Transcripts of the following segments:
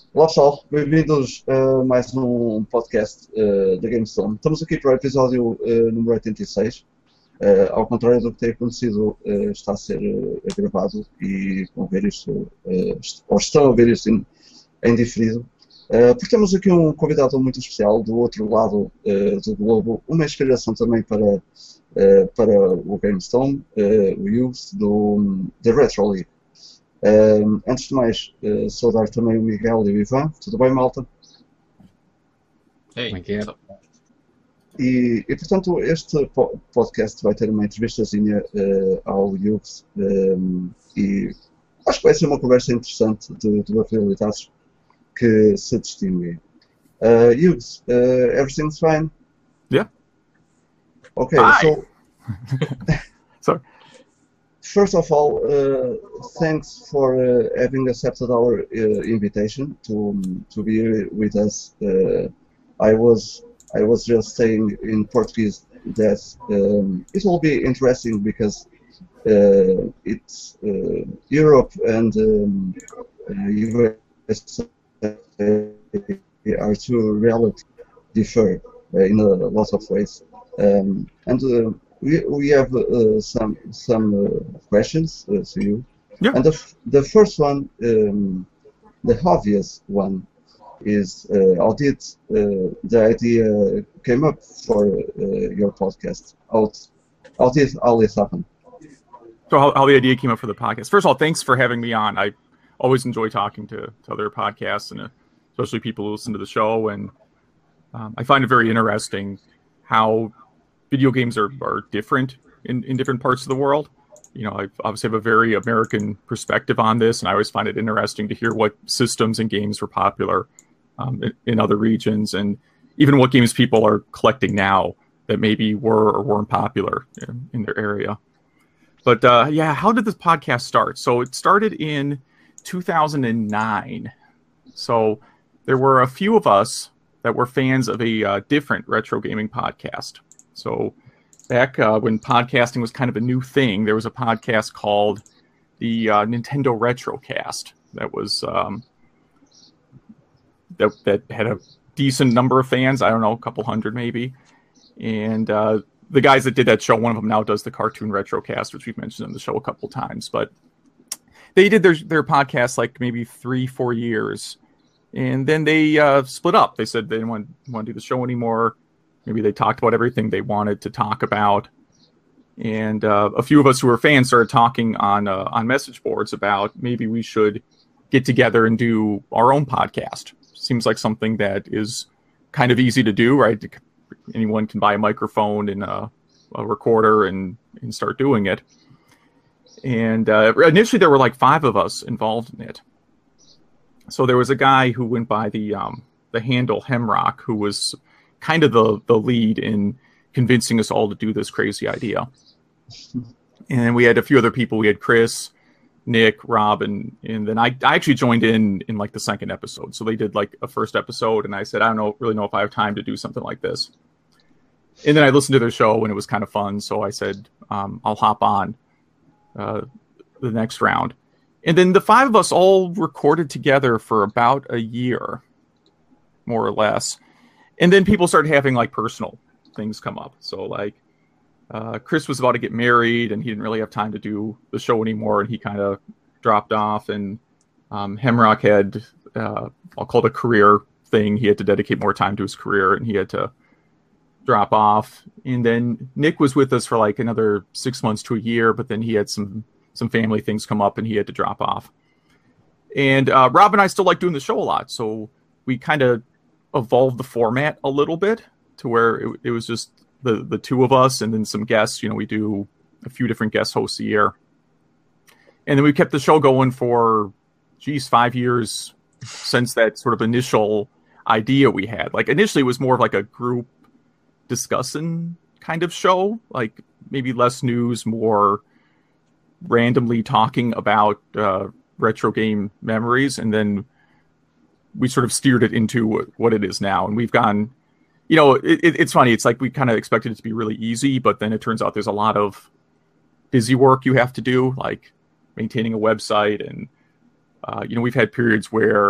Olá pessoal, bem-vindos a mais um podcast da GameStone. Estamos aqui para o episódio número 86. Ao contrário do que tem acontecido, está a ser gravado e vão ver isto, ou estão a ver isto em diferido. Porque temos aqui um convidado muito especial do outro lado do globo, uma inspiração também para o GameStone, o Youth da Retro League. Antes de mais, saudar também o Miguel e o Ivan. Tudo bem, malta? Hey, Como é que é? E portanto, este podcast vai ter uma entrevistazinha ao Youth e acho que vai ser uma conversa interessante de duas realidades que se distinguem. Youth, everything's fine? Yeah. Okay, Hi. so Sorry. first of all, thanks for having accepted our invitation to be here with us. I was just saying in Portuguese that it will be interesting because it's Europe and US are two relatively differ in a lot of ways, and we have some questions to you. Yeah. And the first one, the obvious one, is how did the idea came up for your podcast? How did all this happen? So how the idea came up for the podcast. First of all, thanks for having me on. I always enjoy talking to other podcasts and especially people who listen to the show. And I find it very interesting how video games are different in different parts of the world. You know, I obviously have a very American perspective on this, and I always find it interesting to hear what systems and games were popular in other regions, and even what games people are collecting now that maybe were or weren't popular in their area. But yeah, how did this podcast start? So it started in 2009. So there were a few of us that were fans of a different retro gaming podcast. So back when podcasting was kind of a new thing, there was a podcast called the Nintendo Retrocast that was that had a decent number of fans. I don't know, a couple hundred maybe. And the guys that did that show, one of them now does the Cartoon Retrocast, which we've mentioned on the show a couple times. But they did their podcast like maybe 3-4 years. And then they split up. They said they didn't want to do the show anymore. Maybe they talked about everything they wanted to talk about. And a few of us who were fans started talking on message boards about maybe we should get together and do our own podcast. Seems like something that is kind of easy to do, right? Anyone can buy a microphone and a recorder and start doing it. And initially there were like 5 of us involved in it. So there was a guy who went by the handle Hemrock, who was kind of the lead in convincing us all to do this crazy idea. And we had a few other people. We had Chris, Nick, Rob, and then I actually joined in like the second episode. So they did like a first episode, and I said, I don't really know if I have time to do something like this. And then I listened to their show, and it was kind of fun. So I said, I'll hop on the next round. And then the 5 of us all recorded together for about a year, more or less. And then people started having like personal things come up. So like Chris was about to get married and he didn't really have time to do the show anymore. And he kind of dropped off. And Hemrock had, I'll call it a career thing. He had to dedicate more time to his career and he had to drop off. And then Nick was with us for like another 6 months to a year, but then he had some family things come up and he had to drop off. And Rob and I still like doing the show a lot. So we kind of evolved the format a little bit to where it was just the 2 of us and then some guests. You know, we do a few different guest hosts a year. And then we kept the show going for, 5 years since that sort of initial idea we had. Like initially it was more of like a group discussing kind of show, like maybe less news, more randomly talking about retro game memories. And then we sort of steered it into what it is now. And we've gone, you know, it's funny. It's like we kind of expected it to be really easy, but then it turns out there's a lot of busy work you have to do, like maintaining a website. And, you know, we've had periods where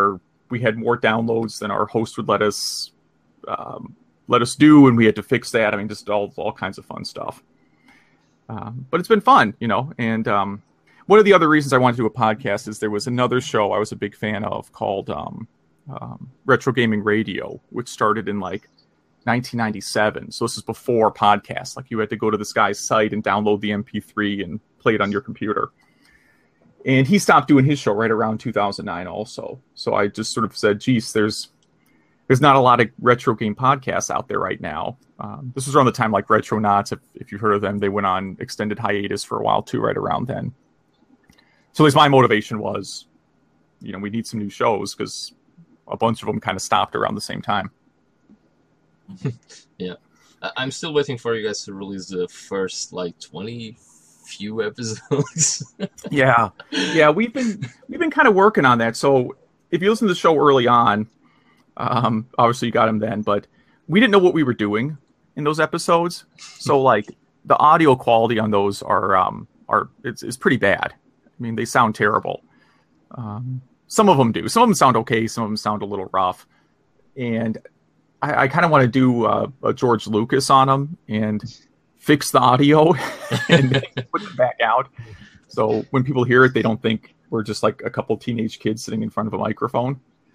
we had more downloads than our host would let us do, and we had to fix that. I mean, just all kinds of fun stuff. But it's been fun, and one of the other reasons I wanted to do a podcast is there was another show I was a big fan of called Retro Gaming Radio, which started in like 1997. So this is before podcasts. Like you had to go to this guy's site and download the MP3 and play it on your computer. And he stopped doing his show right around 2009 also. So I just sort of said, geez, there's not a lot of retro game podcasts out there right now. This was around the time like Retronauts, if you've heard of them, they went on extended hiatus for a while too, right around then. So at least my motivation was, we need some new shows because a bunch of them kind of stopped around the same time. Yeah. I'm still waiting for you guys to release the first 20 few episodes. Yeah, we've been kind of working on that. So if you listen to the show early on, obviously you got them then, but we didn't know what we were doing in those episodes. So the audio quality on those it's pretty bad. I mean, they sound terrible. Some of them do. Some of them sound okay. Some of them sound a little rough. And I kind of want to do a George Lucas on them and fix the audio and put them back out. So when people hear it, they don't think we're just like a couple teenage kids sitting in front of a microphone.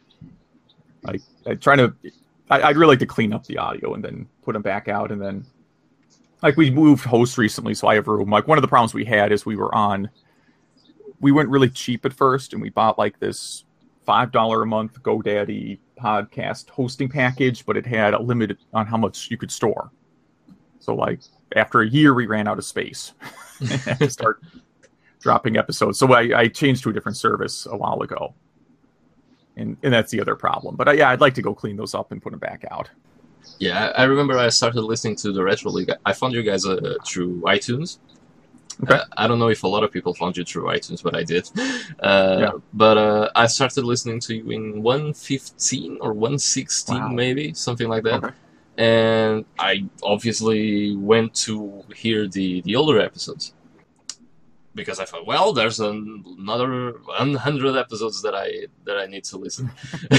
I'd really like to clean up the audio and then put them back out. And then we moved hosts recently, so I have room. One of the problems we had is we went really cheap at first, and we bought this $5 a month GoDaddy podcast hosting package, but it had a limit on how much you could store. So after a year, we ran out of space and had to start dropping episodes. So I changed to a different service a while ago. And that's the other problem. But I'd like to go clean those up and put them back out. Yeah, I remember I started listening to the Retro League. I found you guys through iTunes. Okay. I don't know if a lot of people found you through iTunes, but I did. But I started listening to you in 115 or 116, maybe, something like that. Okay. And I obviously went to hear the older episodes. Because I thought, well, there's another 100 episodes that I need to listen.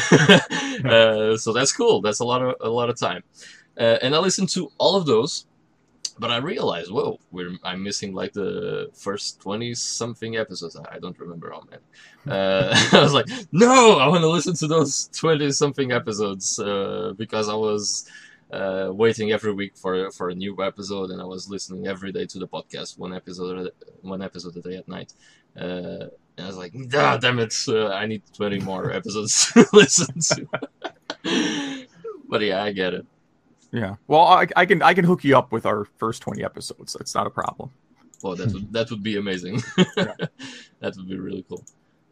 So that's cool. That's a lot of time. And I listened to all of those. But I realized, whoa, I'm missing the first 20-something episodes. I don't remember how many. I was like, no, I want to listen to those 20-something episodes because I was waiting every week for a new episode, and I was listening every day to the podcast, one episode a day at night. And I was like, damn it, I need 20 more episodes to listen to. But yeah, I get it. Yeah, well, I can hook you up with our first 20 episodes. That's not a problem. Well, that would be amazing. Yeah. That would be really cool.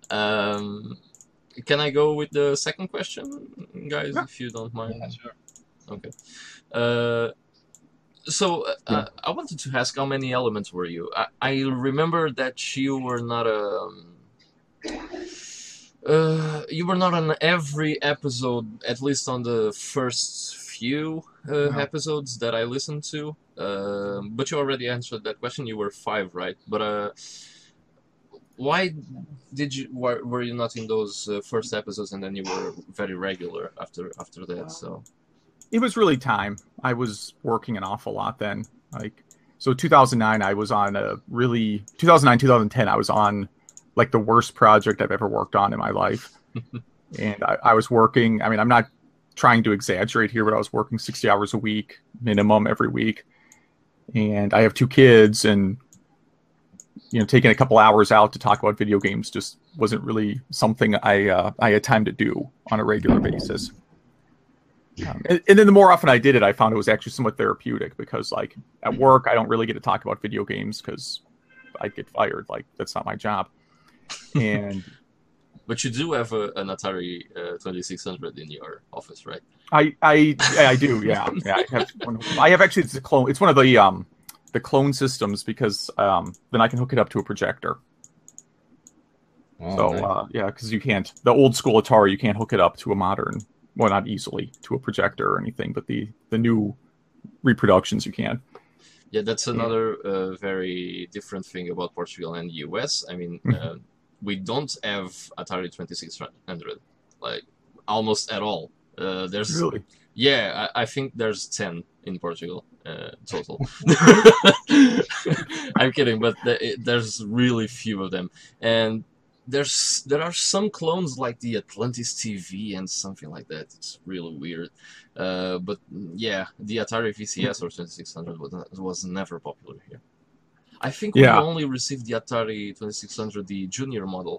Can I go with the second question, guys, if you don't mind? Yeah, sure. Okay. So I wanted to ask, how many elements were you? I remember that you were not on every episode, at least on the first few episodes that I listened to. But you already answered that question. You were 5, right? But why were you not in those first episodes, and then you were very regular after that? So it was really time. I was working an awful lot then. So 2009, I was on 2009, 2010, I was on the worst project I've ever worked on in my life. And I was working, I mean, I'm not trying to exaggerate here, but I was working 60 hours a week, minimum every week. And I have 2 kids, and taking a couple hours out to talk about video games just wasn't really something I had time to do on a regular basis. And then the more often I did it, I found it was actually somewhat therapeutic, because at work, I don't really get to talk about video games because I'd get fired. That's not my job. And but you do have an Atari 2600 in your office, right? I do, yeah. I have actually, it's a clone. It's one of the clone systems, because then I can hook it up to a projector. Oh, so nice. because you can't, the old school Atari, you can't hook it up to a modern, well, not easily to a projector or anything, but the new reproductions you can. Yeah, that's another very different thing about Portugal and the US. I mean, we don't have Atari 2600. almost at all. There's Really? Yeah, I think there's 10 in Portugal total. I'm kidding, but there's really few of them, and there are some clones like the Atlantis TV and something like that. It's really weird, but yeah, the Atari VCS or 2600 was never popular here. I think we only received the Atari 2600, the junior model.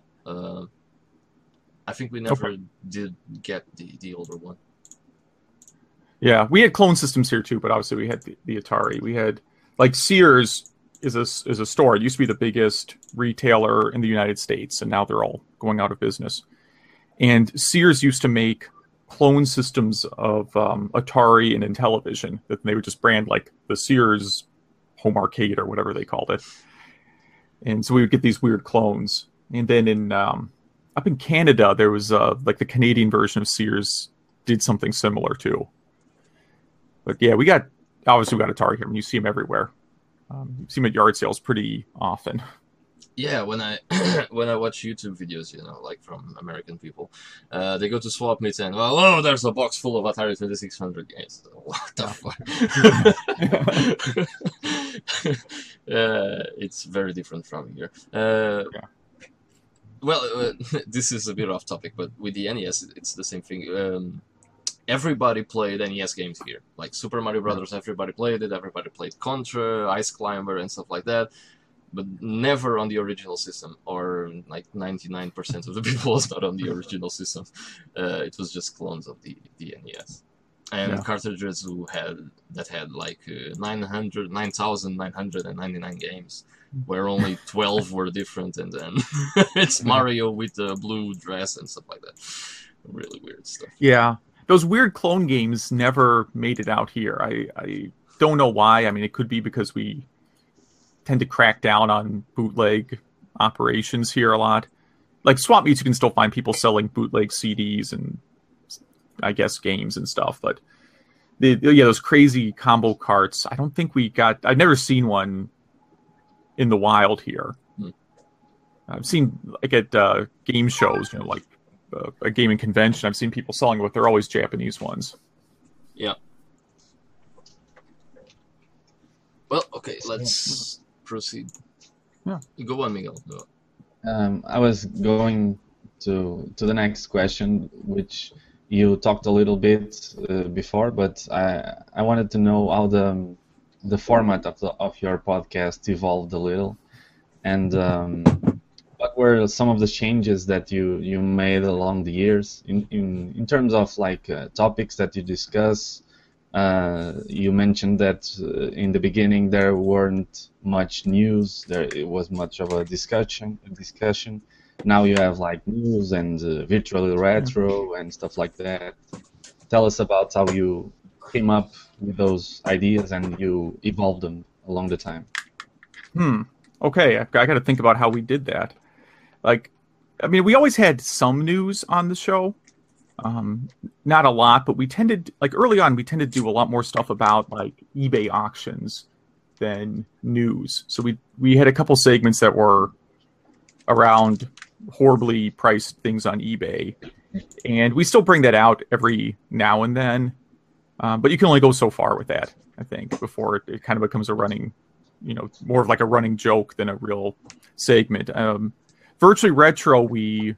I think we never did get the older one. Yeah, we had clone systems here too, but obviously we had the Atari. We had, like, Sears is a store. It used to be the biggest retailer in the United States, and now they're all going out of business. And Sears used to make clone systems of Atari and Intellivision that they would just brand like the Sears Home Arcade or whatever they called it. And so we would get these weird clones. And then in up in Canada, there was like the Canadian version of Sears did something similar too. But yeah, we obviously got Atari here. I mean, you see them everywhere. You see them at yard sales pretty often. Yeah, when I watch YouTube videos, like from American people, they go to Swap Meet and, oh, there's a box full of Atari 2600 games. What the fuck? It's very different from here. Well, this is a bit off topic, but with the NES, it's the same thing. Everybody played NES games here. Like Super Mario Brothers, everybody played it. Everybody played Contra, Ice Climber, and stuff like that. But never on the original system, or like 99% of the people was not on the original system. It was just clones of the NES. And cartridges that had like 9,999 games, where only 12 were different, and then it's Mario with a blue dress and stuff like that. Really weird stuff. Yeah. Those weird clone games never made it out here. I don't know why. I mean, it could be because we tend to crack down on bootleg operations here a lot. Like Swap Meets, you can still find people selling bootleg CDs and, I guess, games and stuff. But those crazy combo carts, I don't think we got. I've never seen one in the wild here. I've seen like at game shows, like a gaming convention. I've seen people selling what they're always Japanese ones. Yeah. Well, okay, let's proceed. Yeah. Go on, Miguel. Go on. I was going to the next question, which you talked a little bit before, but I wanted to know how the format of your podcast evolved a little, and what were some of the changes that you made along the years in terms of like topics that you discuss. You mentioned that in the beginning there weren't much news. It was much of a discussion. Now you have like news and virtual retro and stuff like that. Tell us about how you came up with those ideas and you evolved them along the time. Okay, I got to think about how we did that. Like, I mean, we always had some news on the show. Not a lot, but we tended, like early on, we tended to do a lot more stuff about like eBay auctions than news. So we had a couple segments that were around horribly priced things on eBay, and we still bring that out every now and then. But you can only go so far with that, I think, before it kind of becomes a running, more of like a running joke than a real segment. Virtually Retro, we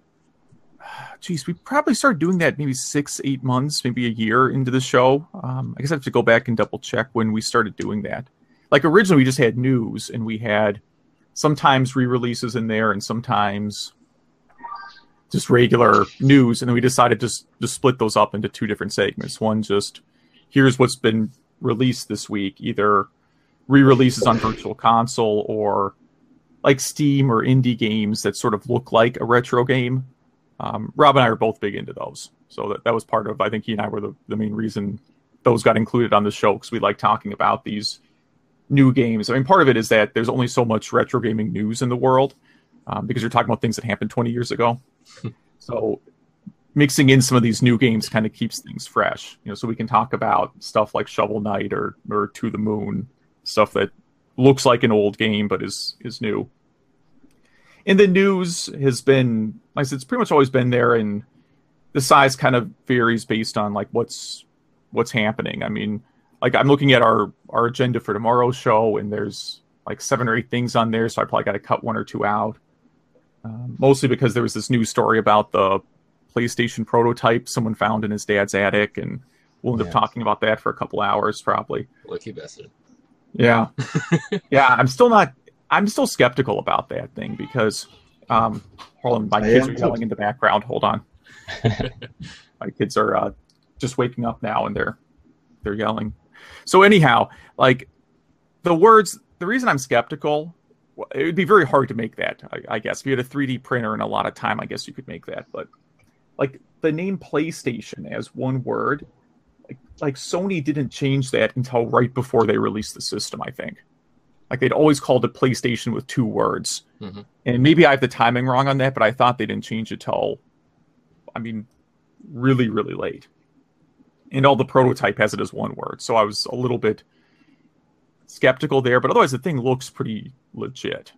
probably started doing that maybe 6-8 months, maybe a year into the show. I guess I have to go back and double check when we started doing that. Like originally we just had news, and we had sometimes re-releases in there and sometimes just regular news. And then we decided to split those up into two different segments. One, just here's what's been released this week, either re-releases on Virtual Console or like Steam or indie games that sort of look like a retro game. Rob and I are both big into those. So that was part of, I think he and I were the main reason those got included on the show, because we like talking about these new games. I mean, part of it is that there's only so much retro gaming news in the world, because you're talking about things that happened 20 years ago. So mixing in some of these new games kind of keeps things fresh, so we can talk about stuff like Shovel Knight or To the Moon, stuff that looks like an old game but is new. And the news has been, like I said, it's pretty much always been there, and the size kind of varies based on like what's happening. I mean, like I'm looking at our agenda for tomorrow's show, and there's like 7 or 8 things on there, so I probably got to cut 1 or 2 out. Mostly because there was this news story about the PlayStation prototype someone found in his dad's attic, and we'll end up talking about that for a couple hours probably. Lucky bastard. Yeah. Yeah, I'm still skeptical about that thing because hold on, my kids are yelling in the background. Hold on. My kids are just waking up now, and they're yelling. So anyhow, like the reason I'm skeptical, it would be very hard to make that, I guess. If you had a 3D printer and a lot of time, I guess you could make that. But like the name PlayStation as one word, like Sony didn't change that until right before they released the system, I think. Like they'd always called it PlayStation with 2 words. Mm-hmm. And maybe I have the timing wrong on that, but I thought they didn't change it till, I mean, really, really late. And all the prototype has it as 1 word. So I was a little bit skeptical there, but otherwise the thing looks pretty legit.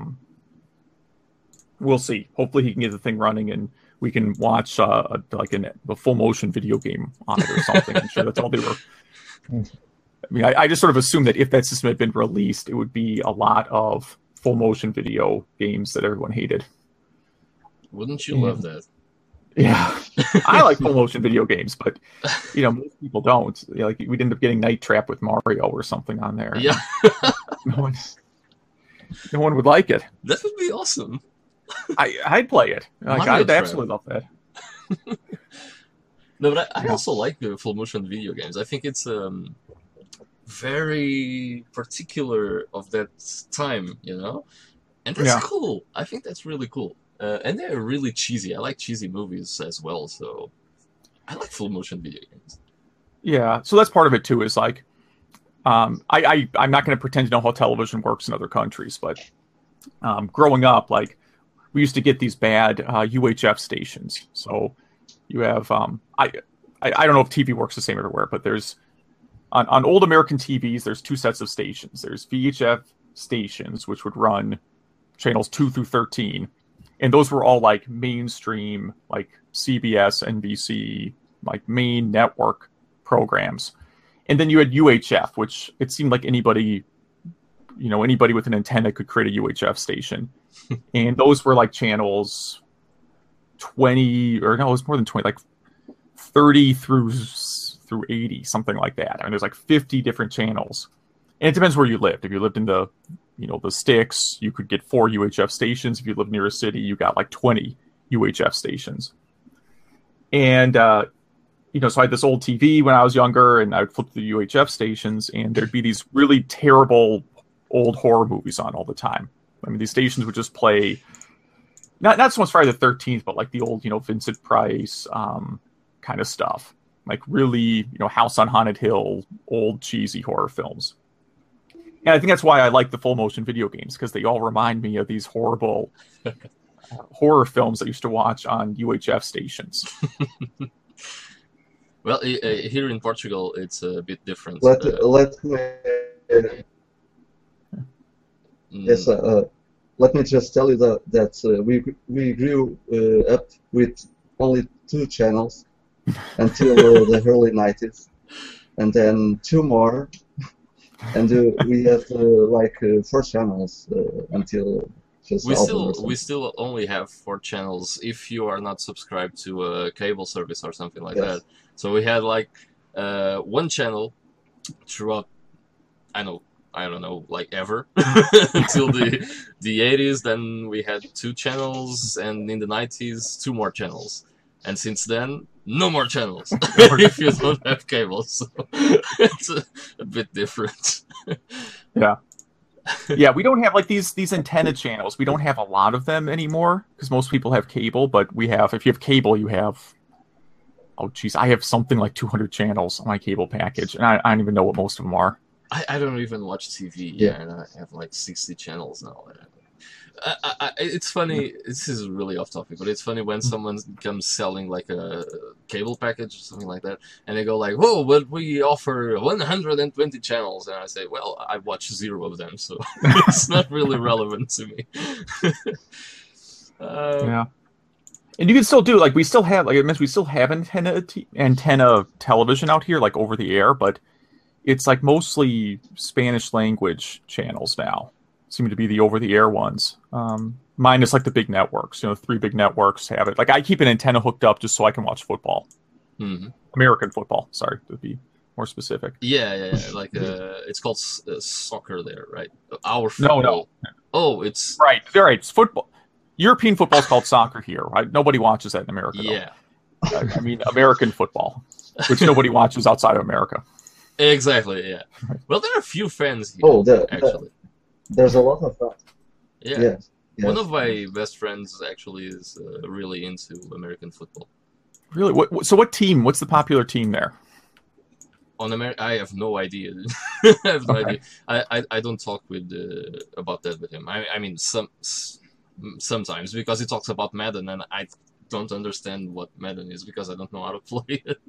We'll see. Hopefully he can get the thing running and we can watch a full motion video game on it or something. I'm sure that's all they were. I mean, I just sort of assumed that if that system had been released, it would be a lot of full motion video games that everyone hated. Wouldn't you love that? Yeah, I like full motion video games, but most people don't. Like we'd end up getting Night Trap with Mario or something on there. Yeah, no one would like it. That would be awesome. I'd play it. Like I'd absolutely love that. No, but I also like full motion video games. I think it's very particular of that time, and that's cool. I think that's really cool. And they're really cheesy. I like cheesy movies as well, so I like full motion video games. Yeah, so that's part of it too. Is like, I'm not going to pretend to know how television works in other countries, but growing up, like we used to get these bad UHF stations. So you have I don't know if TV works the same everywhere, but there's on old American TVs, there's 2 sets of stations. There's VHF stations, which would run channels 2 through 13. And those were all like mainstream, like CBS, NBC, like main network programs. And then you had UHF, which it seemed like anybody with an antenna could create a UHF station. And those were like channels 20, or no, it was more than 20, like 30 through 80, something like that. I mean, there's like 50 different channels. And it depends where you lived. If you lived in the sticks, you could get 4 UHF stations. If you lived near a city, you got like 20 UHF stations. And, so I had this old TV when I was younger, and I would flip the UHF stations, and there'd be these really terrible old horror movies on all the time. I mean, these stations would just play, not so much Friday the 13th, but like the old, Vincent Price kind of stuff. Like really, House on Haunted Hill, old cheesy horror films. And I think that's why I like the full motion video games, because they all remind me of these horrible horror films I used to watch on UHF stations. Well, here in Portugal, it's a bit different. Let me just tell you that we grew up with only 2 channels until the early 90s, and then 2 more. And we had 4 channels until just we still only have 4 channels if you are not subscribed to a cable service or something like that. So we had 1 channel throughout, I don't know, ever until the 80s. Then we had 2 channels, and in the 90s 2 more channels. And since then, no more channels if you don't have cable. So it's a bit different. Yeah. Yeah, we don't have these antenna channels. We don't have a lot of them anymore because most people have cable. But if you have cable, you have, I have something like 200 channels on my cable package, and I don't even know what most of them are. I don't even watch TV. Yeah, and I have 60 channels now. It's funny. This is really off topic, but it's funny when someone comes selling a cable package or something like that, and they go "Whoa, but we offer 120 channels," and I say, "Well, I watch 0 of them, so it's not really relevant to me." Yeah. And you can still do, like, we still have, like I mentioned, we still have antenna television out here, like over the air, but it's like mostly Spanish language channels now. Seem to be the over the air ones. Minus like the big networks. 3 big networks have it. Like I keep an antenna hooked up just so I can watch football. Mm-hmm. American football, sorry, to be more specific. Yeah. Like it's called soccer there, right? Our football. No. Oh, it's right. It's football. European football is called soccer here, right? Nobody watches that in America. Yeah. I mean, American football, which nobody watches outside of America. Exactly. Yeah. Well, there are a few fans here. Actually, there's a lot of that. Yeah. Yes. One of my best friends actually is really into American football. Really? What team? What's the popular team there? On America, I have no idea. I have no idea. I don't talk with about that with him. I mean, sometimes because he talks about Madden, and I don't understand what Madden is because I don't know how to play it.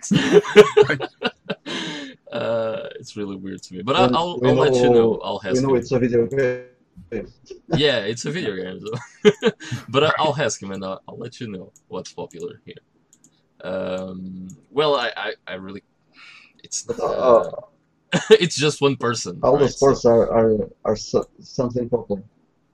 It's really weird to me. But I'll let you know. I'll ask him. It's a video game. Yeah, it's a video game. So. But I'll ask him and I'll let you know what's popular here. Well, I really. It's it's just one person. All the sports are something popular.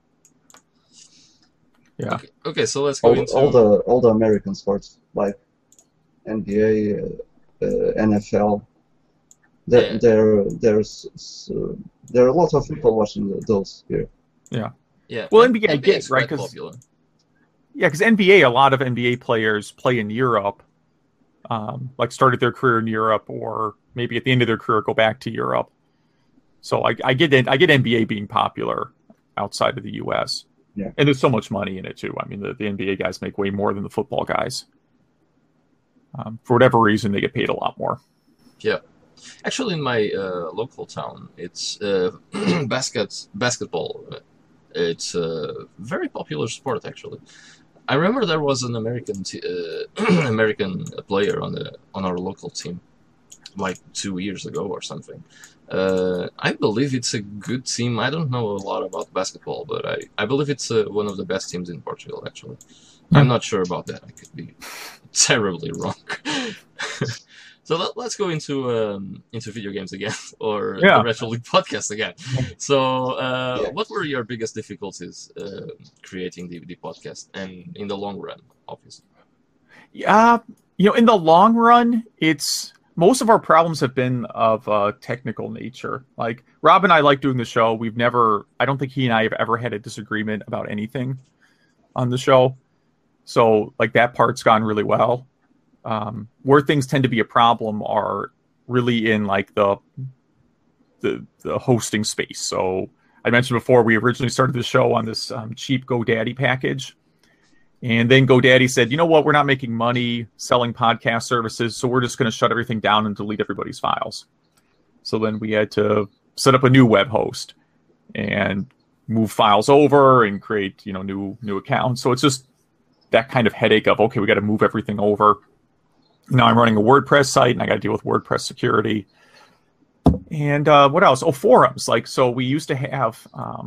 Yeah. Okay, so let's go into all the American sports like NBA, NFL. There are a lot of people watching those here. Yeah. Yeah. Well, NBA, I get right? Because NBA, a lot of NBA players play in Europe. Like started their career in Europe, or maybe at the end of their career go back to Europe. So I get NBA being popular outside of the U.S. Yeah. And there's so much money in it too. I mean, the NBA guys make way more than the football guys. For whatever reason, they get paid a lot more. Yeah. Actually, in my local town, it's basketball. It's a very popular sport, actually. I remember there was an American American player on our local team, like 2 years ago or something. I believe it's a good team. I don't know a lot about basketball, but I believe it's one of the best teams in Portugal, actually. I'm not sure about that. I could be terribly wrong. So let's go into video games again, or the Retro League podcast again. So, what were your biggest difficulties creating the podcast, and in the long run, obviously? Yeah, in the long run, most of our problems have been of a technical nature. Like Rob and I like doing the show. I don't think he and I have ever had a disagreement about anything on the show. So, like that part's gone really well. Where things tend to be a problem are really in like the hosting space. So I mentioned before, we originally started the show on this cheap GoDaddy package. And then GoDaddy said, you know what, we're not making money selling podcast services, so we're just going to shut everything down and delete everybody's files. So then we had to set up a new web host and move files over and create, new accounts. So it's just that kind of headache of, okay, we got to move everything over. Now I'm running a WordPress site, and I got to deal with WordPress security. And what else? Oh, forums. So we used to have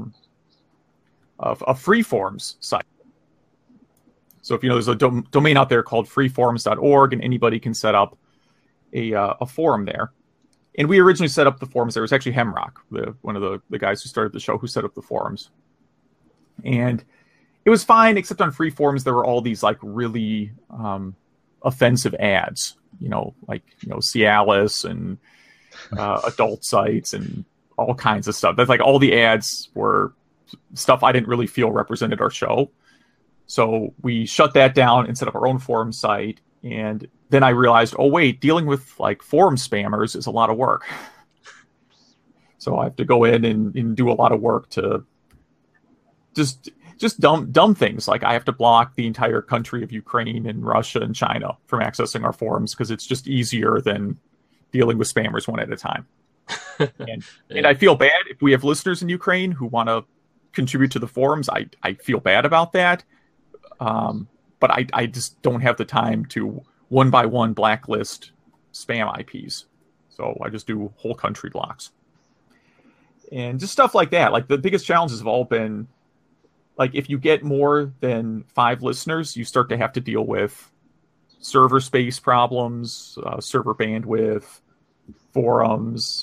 a free forums site. So if there's a domain out there called freeforums.org, and anybody can set up a forum there. And we originally set up the forums there. It was actually Hemrock, one of the guys who started the show, who set up the forums. And it was fine, except on free forums there were all these really offensive ads, Cialis and adult sites and all kinds of stuff. That's all the ads were stuff I didn't really feel represented our show. So we shut that down and set up our own forum site. And then I realized, oh wait, dealing with forum spammers is a lot of work. So I have to go in and do a lot of work to just dumb things. Like I have to block the entire country of Ukraine and Russia and China from accessing our forums because it's just easier than dealing with spammers one at a time. And I feel bad if we have listeners in Ukraine who want to contribute to the forums. I feel bad about that. But I just don't have the time to one by one blacklist spam IPs. So I just do whole country blocks. And just stuff like that. The biggest challenges have all been like if you get more than 5 listeners, you start to have to deal with server space problems, server bandwidth, forums.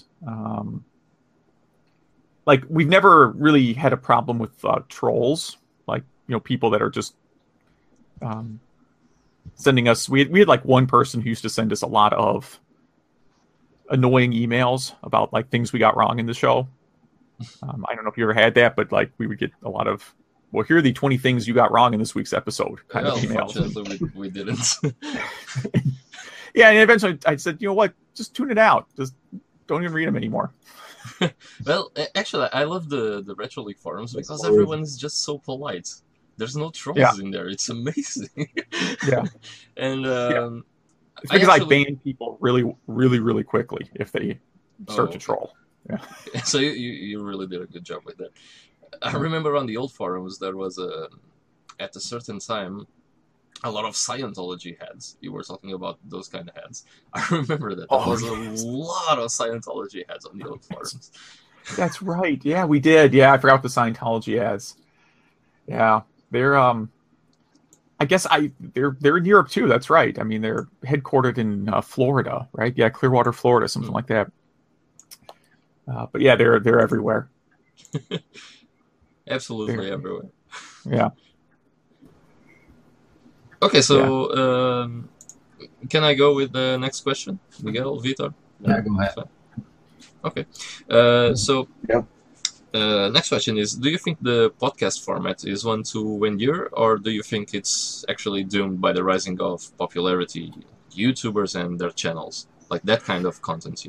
Like we've never really had a problem with trolls, like people that are just sending us. We had like one person who used to send us a lot of annoying emails about like things we got wrong in the show. I don't know if you ever had that, but like we would get a lot of, well, here are the 20 things you got wrong in this week's episode kind of emails. Unfortunately, we didn't. Yeah, and eventually I said, you know what, just tune it out. Just don't even read them anymore. Well, actually, I love the Retro League forums because everyone is just so polite. There's no trolls in there. It's amazing. Yeah. And it's because I ban people really, really, really quickly if they start to troll. Yeah. So you really did a good job with that. I remember on the old forums there was at a certain time a lot of Scientology heads. You were talking about those kind of heads. I remember that. There was a lot of Scientology heads on the old forums. That's right. Yeah, we did. Yeah, I forgot the Scientology ads. Yeah, they're I guess they're in Europe too. That's right. I mean, they're headquartered in Florida, right? Yeah, Clearwater, Florida, something like that. But yeah, they're everywhere. Absolutely everywhere. Yeah. Okay, so can I go with the next question, Miguel, Vitor? Yeah, go ahead. Okay. Next question is, do you think the podcast format is one to endure, or do you think it's actually doomed by the rising of popularity, YouTubers and their channels? Like that kind of content,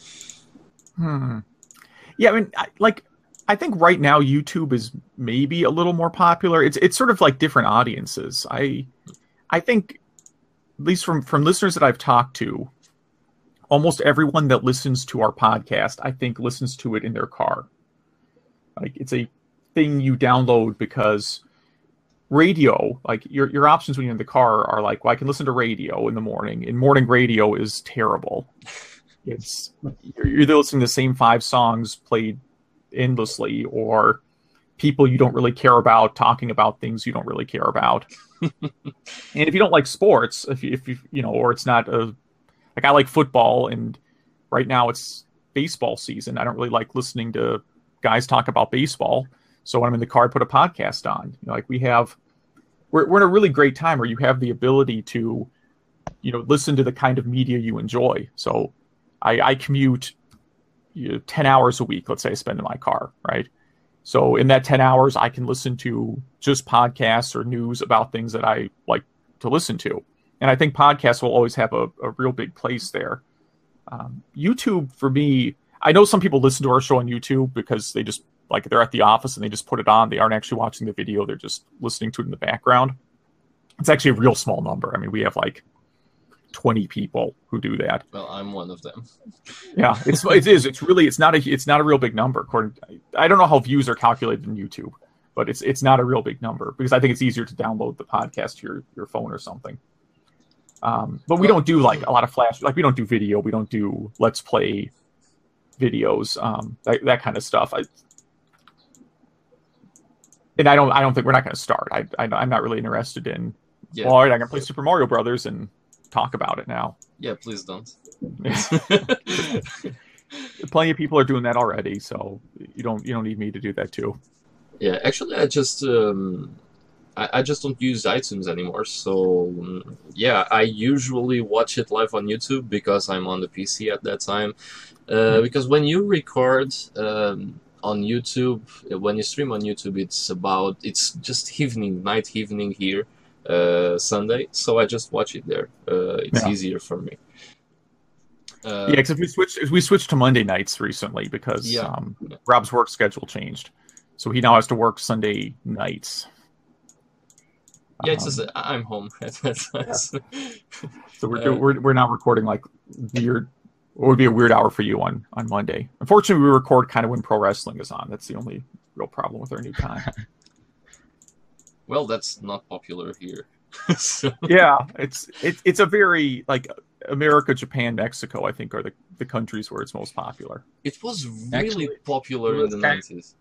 Yeah, I mean, I think right now YouTube is maybe a little more popular. It's sort of like different audiences. I think, at least from listeners that I've talked to, almost everyone that listens to our podcast, I think, listens to it in their car. Like it's a thing you download because radio, like your options when you're in the car are like, well, I can listen to radio in the morning, and morning radio is terrible. It's you're either listening to the same 5 songs played endlessly, or people you don't really care about talking about things you don't really care about. And if you don't like sports, if you or it's not like I like football, and right now it's baseball season. I don't really like listening to guys talk about baseball. So when I'm in the car, I put a podcast on. Like we're in a really great time where you have the ability to, listen to the kind of media you enjoy. So I commute 10 hours a week, let's say I spend in my car, right? So in that 10 hours, I can listen to just podcasts or news about things that I like to listen to. And I think podcasts will always have a real big place there. YouTube, for me, I know some people listen to our show on YouTube because they just, like, they're at the office and they just put it on. They aren't actually watching the video. They're just listening to it in the background. It's actually a real small number. I mean, we have like 20 people who do that. Well, I'm one of them. Yeah, it is. It's not a real big number. I don't know how views are calculated in YouTube, but it's not a real big number because I think it's easier to download the podcast to your phone or something. But we don't do like a lot of flash. Like we don't do video. We don't do let's play videos. That kind of stuff. And I don't think we're not going to start. I'm not really interested in. Yeah. Well, all right, I can play Super Mario Brothers and talk about it now. Yeah, please don't. Plenty of people are doing that already, so you don't need me to do that too. Yeah, actually, I just don't use iTunes anymore. So yeah, I usually watch it live on YouTube because I'm on the PC at that time. Because when you record on YouTube, when you stream on YouTube, it's just night evening here. Sunday, so I just watch it there. It's easier for me. Because we switched to Monday nights recently because Rob's work schedule changed, so he now has to work Sunday nights. Yeah, it's just I'm home at that time. So we're not recording like weird. It would be a weird hour for you on Monday. Unfortunately, we record kind of when pro wrestling is on. That's the only real problem with our new time. Well, that's not popular here. So. Yeah, it's a very like America, Japan, Mexico, I think are the countries where it's most popular. It was really popular in the 90s.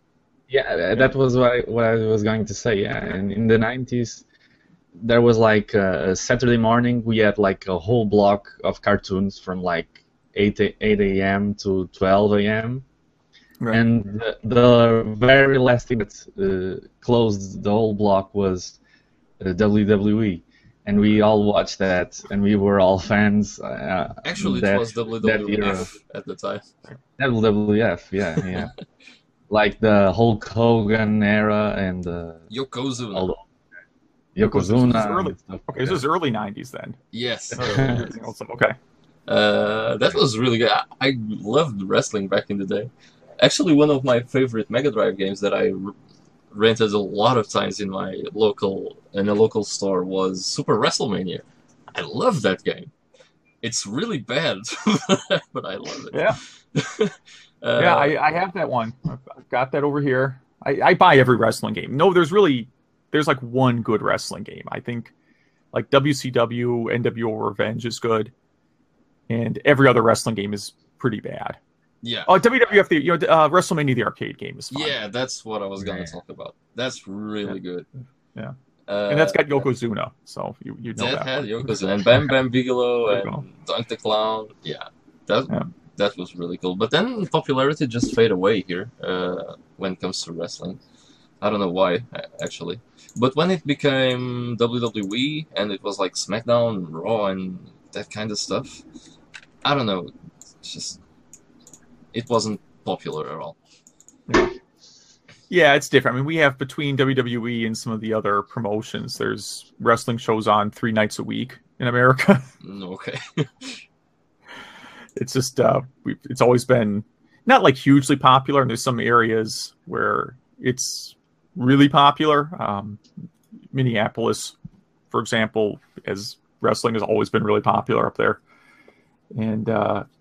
Yeah, that was what I was going to say. Yeah, and in the 90s, there was like a Saturday morning. We had like a whole block of cartoons from like 8 a.m. to 12 a.m. Right. And the very last thing that closed the whole block was WWE. And we all watched that, and we were all fans. Actually, it was WWF at the time. WWF, yeah. Like the Hulk Hogan era and Yokozuna. Yokozuna. Okay, this is early 90s then. Yes. Okay. That was really good. I loved wrestling back in the day. Actually, one of my favorite Mega Drive games that I rented a lot of times in a local store was Super WrestleMania. I love that game. It's really bad, but I love it. Yeah. Yeah, I have that one. I've got that over here. I buy every wrestling game. No, there's like one good wrestling game. I think like WCW, NWO Revenge is good, and every other wrestling game is pretty bad. Yeah. Oh, WWF, WrestleMania, the arcade game is fun. Yeah, that's what I was going to talk about. That's really good. Yeah. And that's got Yokozuna, so you know that. That had Yokozuna and Bam Bam Bigelow and Dunk the Clown. Yeah, that was really cool. But then popularity just faded away here when it comes to wrestling. I don't know why, actually. But when it became WWE and it was like SmackDown, Raw, and that kind of stuff, I don't know. It wasn't popular at all. Yeah, it's different. I mean, we have between WWE and some of the other promotions, there's wrestling shows on 3 nights a week in America. Okay. It's just, it's always been not like hugely popular, and there's some areas where it's really popular. Minneapolis, for example, as wrestling has always been really popular up there. And,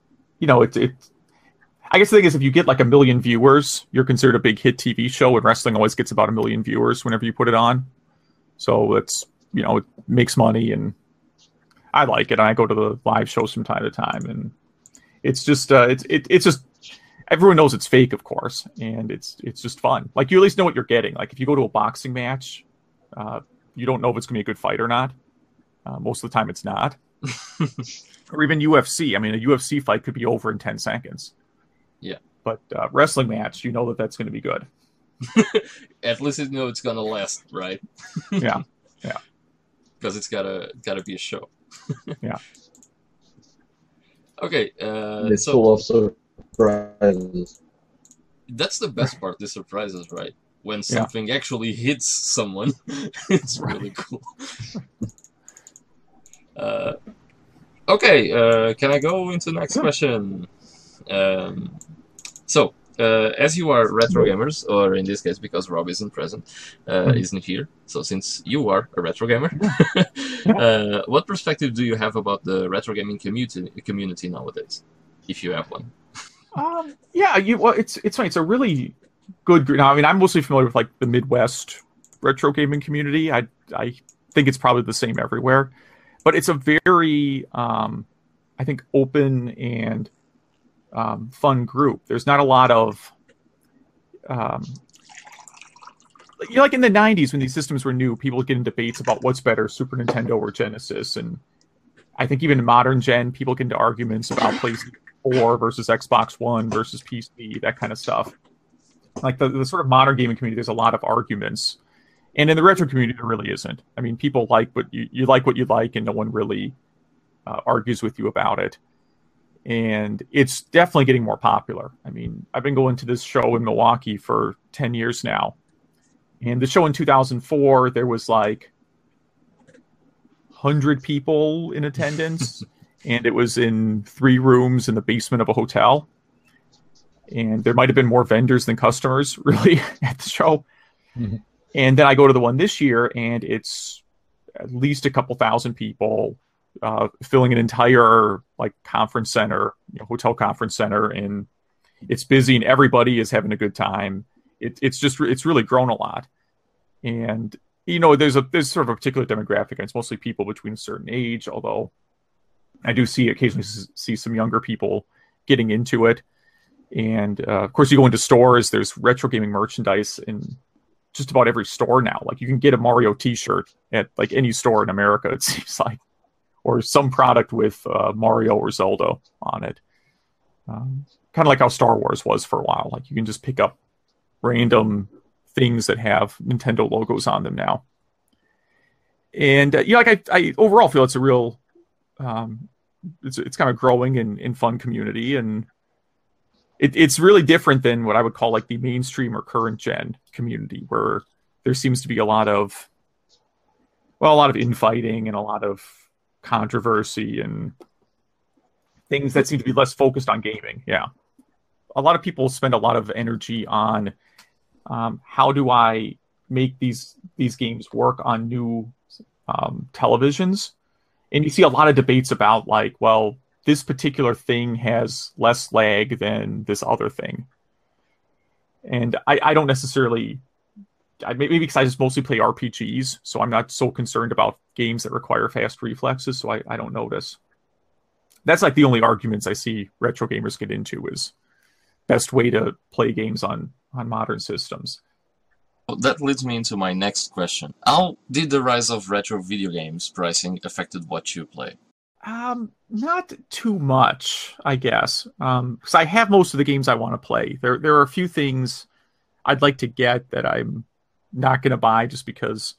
I guess the thing is, if you get like 1 million viewers, you're considered a big hit TV show, and wrestling always gets about 1 million viewers whenever you put it on. So it's, it makes money, and I like it. I go to the live shows from time to time, and it's just, it's just, everyone knows it's fake, of course, and it's just fun. Like, you at least know what you're getting. Like, if you go to a boxing match, you don't know if it's going to be a good fight or not. Most of the time it's not. Or even UFC. I mean, a UFC fight could be over in 10 seconds. Yeah. But wrestling match, you know that's going to be good. At least you know it's going to last, right? Yeah. Because it's gotta be a show. Yeah. Okay. It's full of surprises. That's the best part, the surprises, right? When something actually hits someone, it's really cool. Okay, can I go into the next question? So, as you are retro gamers, or in this case, because Rob isn't present, isn't here, so since you are a retro gamer, what perspective do you have about the retro gaming community nowadays, if you have one? It's funny. It's a really good group. Now, I mean, I'm mostly familiar with like the Midwest retro gaming community. I think it's probably the same everywhere, but it's a very, I think, open and fun group. There's not a lot of, like in the 90s when these systems were new, people would get in debates about what's better, Super Nintendo or Genesis. And I think even in modern gen, people get into arguments about PlayStation 4 versus Xbox One versus PC, that kind of stuff. Like the sort of modern gaming community, there's a lot of arguments. And in the retro community, there really isn't. I mean, people like what you like what you like, and no one really argues with you about it. And it's definitely getting more popular. I mean, I've been going to this show in Milwaukee for 10 years now. And the show in 2004, there was like 100 people in attendance. And it was in 3 rooms in the basement of a hotel. And there might have been more vendors than customers, really, at the show. Mm-hmm. And then I go to the one this year, and it's at least a couple thousand people filling an entire like conference center, hotel conference center, and it's busy, and everybody is having a good time. It's really grown a lot, and there's sort of a particular demographic, and it's mostly people between a certain age. Although I do occasionally see some younger people getting into it, And of course, you go into stores. There's retro gaming merchandise in just about every store now. Like you can get a Mario T-shirt at like any store in America, it seems like, or some product with Mario or Zelda on it. Kind of like how Star Wars was for a while. Like you can just pick up random things that have Nintendo logos on them now. And like I overall feel it's a real, it's kind of growing and fun community, and it's really different than what I would call like the mainstream or current gen community, where there seems to be a lot of infighting and a lot of controversy and things that seem to be less focused on gaming. Yeah. A lot of people spend a lot of energy on how do I make these games work on new televisions. And you see a lot of debates about like, well, this particular thing has less lag than this other thing. And I don't necessarily, maybe because I just mostly play RPGs, so I'm not so concerned about games that require fast reflexes, so I don't notice. That's like the only arguments I see retro gamers get into is best way to play games on modern systems. That leads me into my next question. How did the rise of retro video games pricing affected what you play? Not too much, I guess. Because I have most of the games I want to play. There are a few things I'd like to get that I'm not going to buy just because,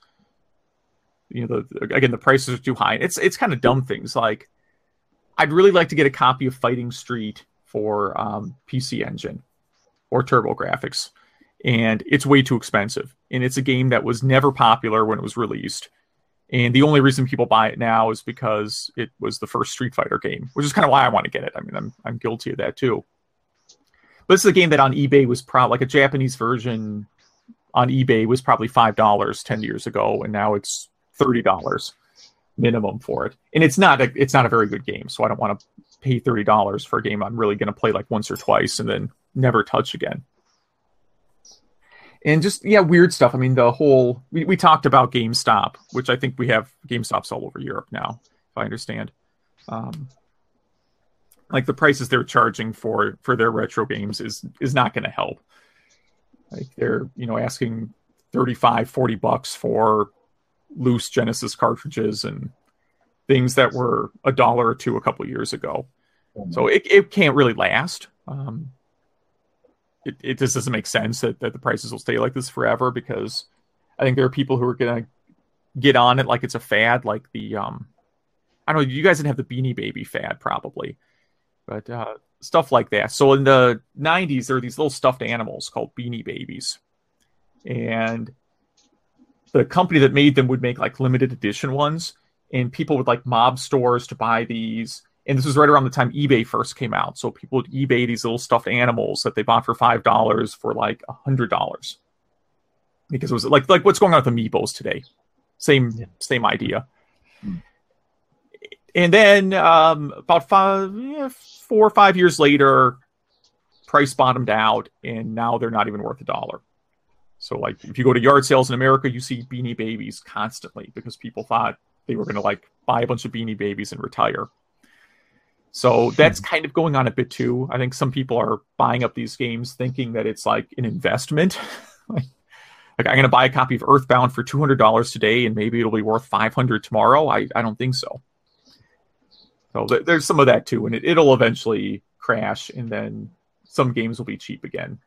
the prices are too high. It's kind of dumb things. Like, I'd really like to get a copy of Fighting Street for PC Engine or TurboGrafx, and it's way too expensive. And it's a game that was never popular when it was released. And the only reason people buy it now is because it was the first Street Fighter game, which is kind of why I want to get it. I mean, I'm guilty of that too. But this is a game that on eBay was probably like a Japanese version on eBay was probably $5 10 years ago, and now it's $30 minimum for it. And it's not a very good game, so I don't want to pay $30 for a game I'm really going to play like once or twice and then never touch again. And just, weird stuff. I mean, the whole... We talked about GameStop, which I think we have GameStops all over Europe now, if I understand. Like, the prices they're charging for their retro games is not going to help. Like, they're, asking $35-40 for loose Genesis cartridges and things that were $1 or $2 a couple years ago. So it can't really last. It just doesn't make sense that the prices will stay like this forever, because I think there are people who are going to get on it like it's a fad, like the, I don't know, you guys didn't have the Beanie Baby fad probably, but stuff like that. So in the 90s, there were these little stuffed animals called Beanie Babies. And the company that made them would make like limited edition ones, and people would like mob stores to buy these. And this was right around the time eBay first came out. So people would eBay these little stuffed animals that they bought for $5 for like $100. Because it was like what's going on with Amiibos today. Same idea. And then about 4 or 5 years later, price bottomed out, and now they're not even worth $1. So like if you go to yard sales in America, you see Beanie Babies constantly because people thought they were going to like buy a bunch of Beanie Babies and retire. So that's kind of going on a bit too. I think some people are buying up these games thinking that it's like an investment. like I'm going to buy a copy of Earthbound for $200 today, and maybe it'll be worth $500 tomorrow. I don't think so. So there's some of that too, and it'll eventually crash, and then some games will be cheap again.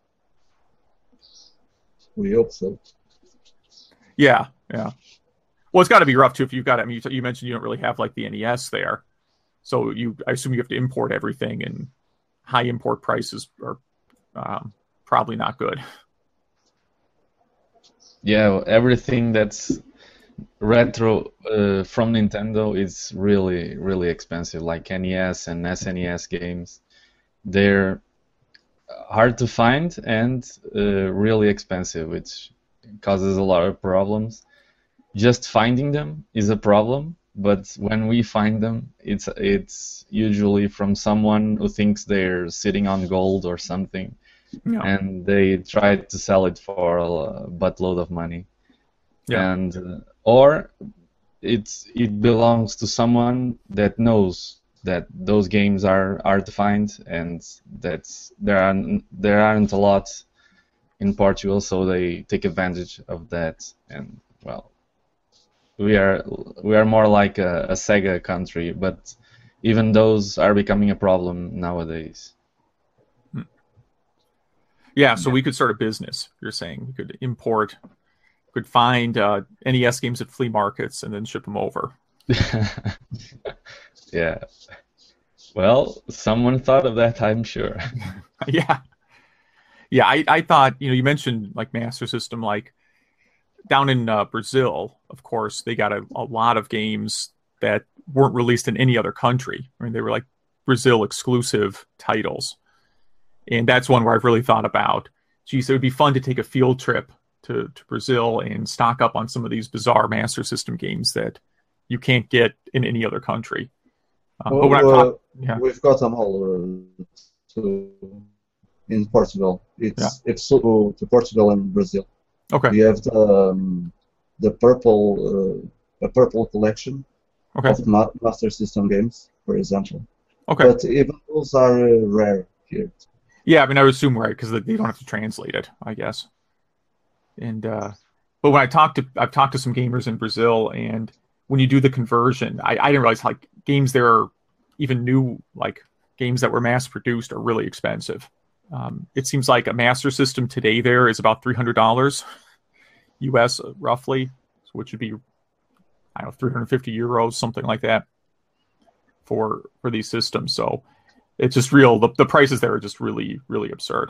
We hope so. Yeah. Well, it's got to be rough too if you've got. I mean, you mentioned you don't really have like the NES there. So I assume you have to import everything, and high import prices are probably not good. Yeah, everything that's retro from Nintendo is really, really expensive. Like NES and SNES games, they're hard to find and really expensive, which causes a lot of problems. Just finding them is a problem. But when we find them, it's usually from someone who thinks they're sitting on gold or something, and they try to sell it for a buttload of money, and or it belongs to someone that knows that those games are hard to find, and there aren't a lot in Portugal, so they take advantage of that. And well, we are more like a Sega country, but even those are becoming a problem nowadays. Yeah, so we could start a business. You're saying we could import, could find NES games at flea markets and then ship them over. Yeah. Well, someone thought of that, I'm sure. Yeah. Yeah, I thought, you mentioned like Master System, like down in Brazil, of course, they got a lot of games that weren't released in any other country. I mean, they were like Brazil exclusive titles. And that's one where I've really thought about, geez, it would be fun to take a field trip to Brazil and stock up on some of these bizarre Master System games that you can't get in any other country. But when we've got them all in Portugal. It's to Portugal and Brazil. Okay. We have the purple collection of Master System games, for example. Okay. But even those are rare here. Yeah, I mean, I would assume right because they don't have to translate it, I guess. And but when I've talked to some gamers in Brazil, and when you do the conversion, I didn't realize like games there are even new, like games that were mass produced are really expensive. It seems like a Master System today there is about $300 US roughly, which would be, I don't know, 350 euros, something like that for these systems. So it's just real. The prices there are just really, really absurd.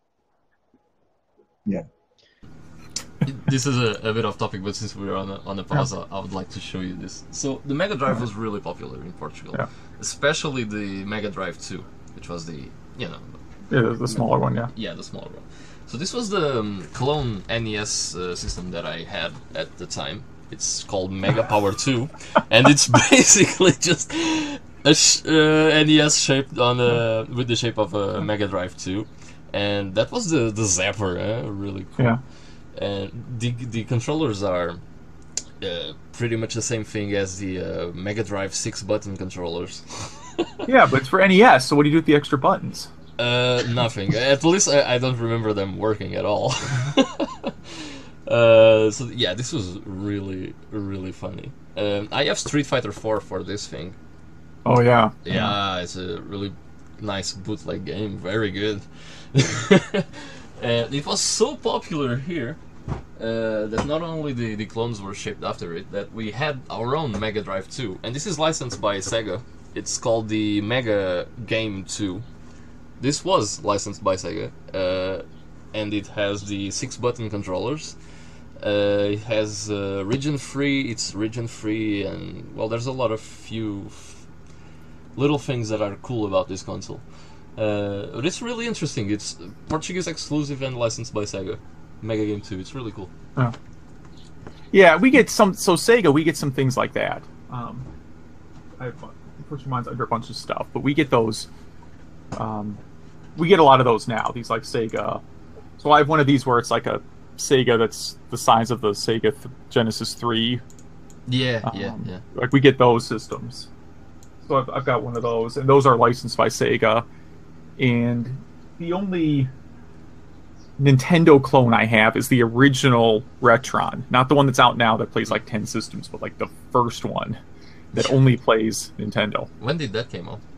Yeah. This is a bit off topic, but since we're on a pause, I would like to show you this. So the Mega Drive was really popular in Portugal, especially the Mega Drive 2, which was the the smaller one, yeah, the smaller one. So this was the clone NES system that I had at the time. It's called Mega Power 2, and it's basically just a NES shaped with the shape of a Mega Drive 2, and that was the Zapper, really cool. Yeah. And the controllers are pretty much the same thing as the Mega Drive 6-button controllers. Yeah, but it's for NES, so what do you do with the extra buttons? Nothing. At least I don't remember them working at all. So yeah, this was really, really funny. I have Street Fighter 4 for this thing. Oh yeah. Yeah, it's a really nice bootleg game. Very good. And it was so popular here that not only the clones were shaped after it, that we had our own Mega Drive 2. And this is licensed by Sega. It's called the Mega Game 2. This was licensed by Sega, and it has the 6-button controllers. It has region-free, it's region-free, and well, there's a lot of few little things that are cool about this console. But it's really interesting. It's Portuguese exclusive and licensed by Sega. Mega Game 2, it's really cool. Oh. Yeah, we get some, so Sega, we get some things like that. Which reminds under a bunch of stuff, but we get those. We get a lot of those now. These like Sega. So I have one of these where it's like a Sega that's the size of the Sega Genesis 3. Yeah. Like we get those systems. So I've got one of those, and those are licensed by Sega. And the only Nintendo clone I have is the original Retron, not the one that's out now that plays like 10 systems, but like the first one that only plays Nintendo. When did that came out?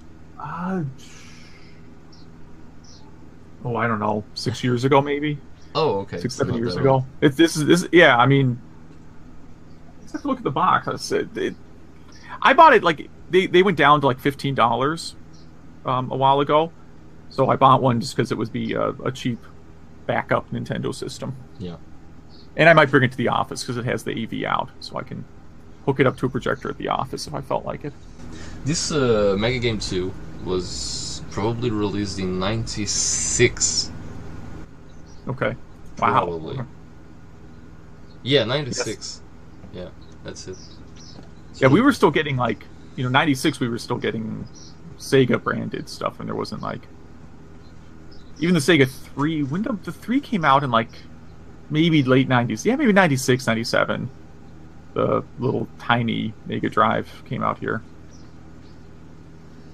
I don't know, 6 years ago maybe. Oh, okay. 6-7 years ago. This yeah. I mean, let's have to look at the box. I bought it like they went down to like $15 a while ago, so I bought one just because it would be a cheap backup Nintendo system. Yeah. And I might bring it to the office because it has the AV out, so I can hook it up to a projector at the office if I felt like it. This Mega Game 2 was probably released in '96. Okay. Wow. Probably. Yeah, 96. Yes. Yeah, that's it. Yeah, we were still getting like, 96 we were still getting Sega branded stuff, and there wasn't like, even the Sega 3, when the 3 came out in like maybe late 90s. Yeah, maybe 96, 97. The little tiny Mega Drive came out here.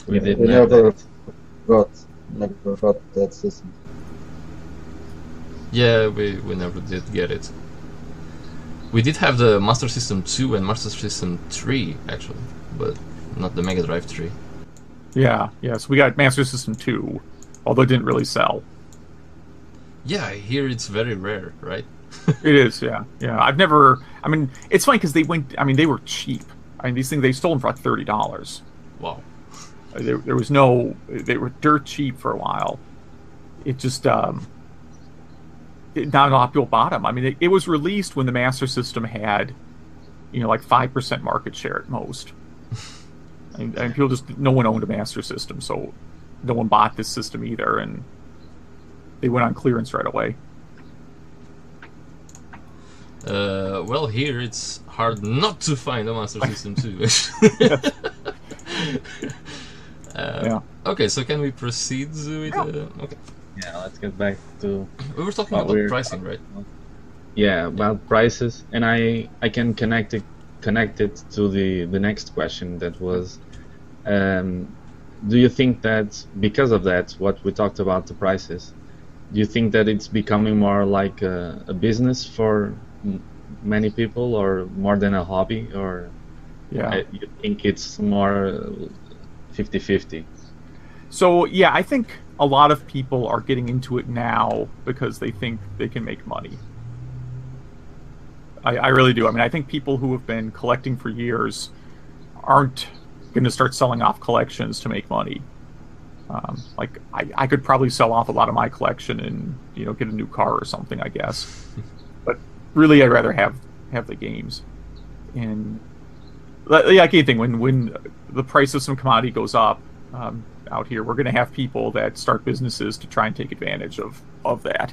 We didn't never got that system. Yeah, we never did get it. We did have the Master System 2 and Master System 3, actually, but not the Mega Drive 3. Yeah, so we got Master System 2, although it didn't really sell. Yeah, I hear it's very rare, right? It is, yeah. I've never... I mean, it's funny because they were cheap. I mean, these things, they stole them for like $30. Wow. There was no... They were dirt cheap for a while. It just... not a lot of people bought them. I mean, it was released when the Master System had, like 5% market share at most. and people no one owned a Master System, so no one bought this system either, and they went on clearance right away. Well, here it's hard not to find a Master System 2. Yeah. Okay, so can we proceed with... okay. Yeah, let's get back to... We were talking about pricing, right? Yeah, about prices, and I can connect it to the next question that was, do you think that because of that, what we talked about the prices, do you think that it's becoming more like a business for many people, or more than a hobby, or you think it's more 50-50? So yeah, I think a lot of people are getting into it now because they think they can make money. I really do. I mean, I think people who have been collecting for years aren't going to start selling off collections to make money. Like I could probably sell off a lot of my collection and get a new car or something, I guess. But really, I'd rather have the games. And like anything, when the price of some commodity goes up out here, we're going to have people that start businesses to try and take advantage of that.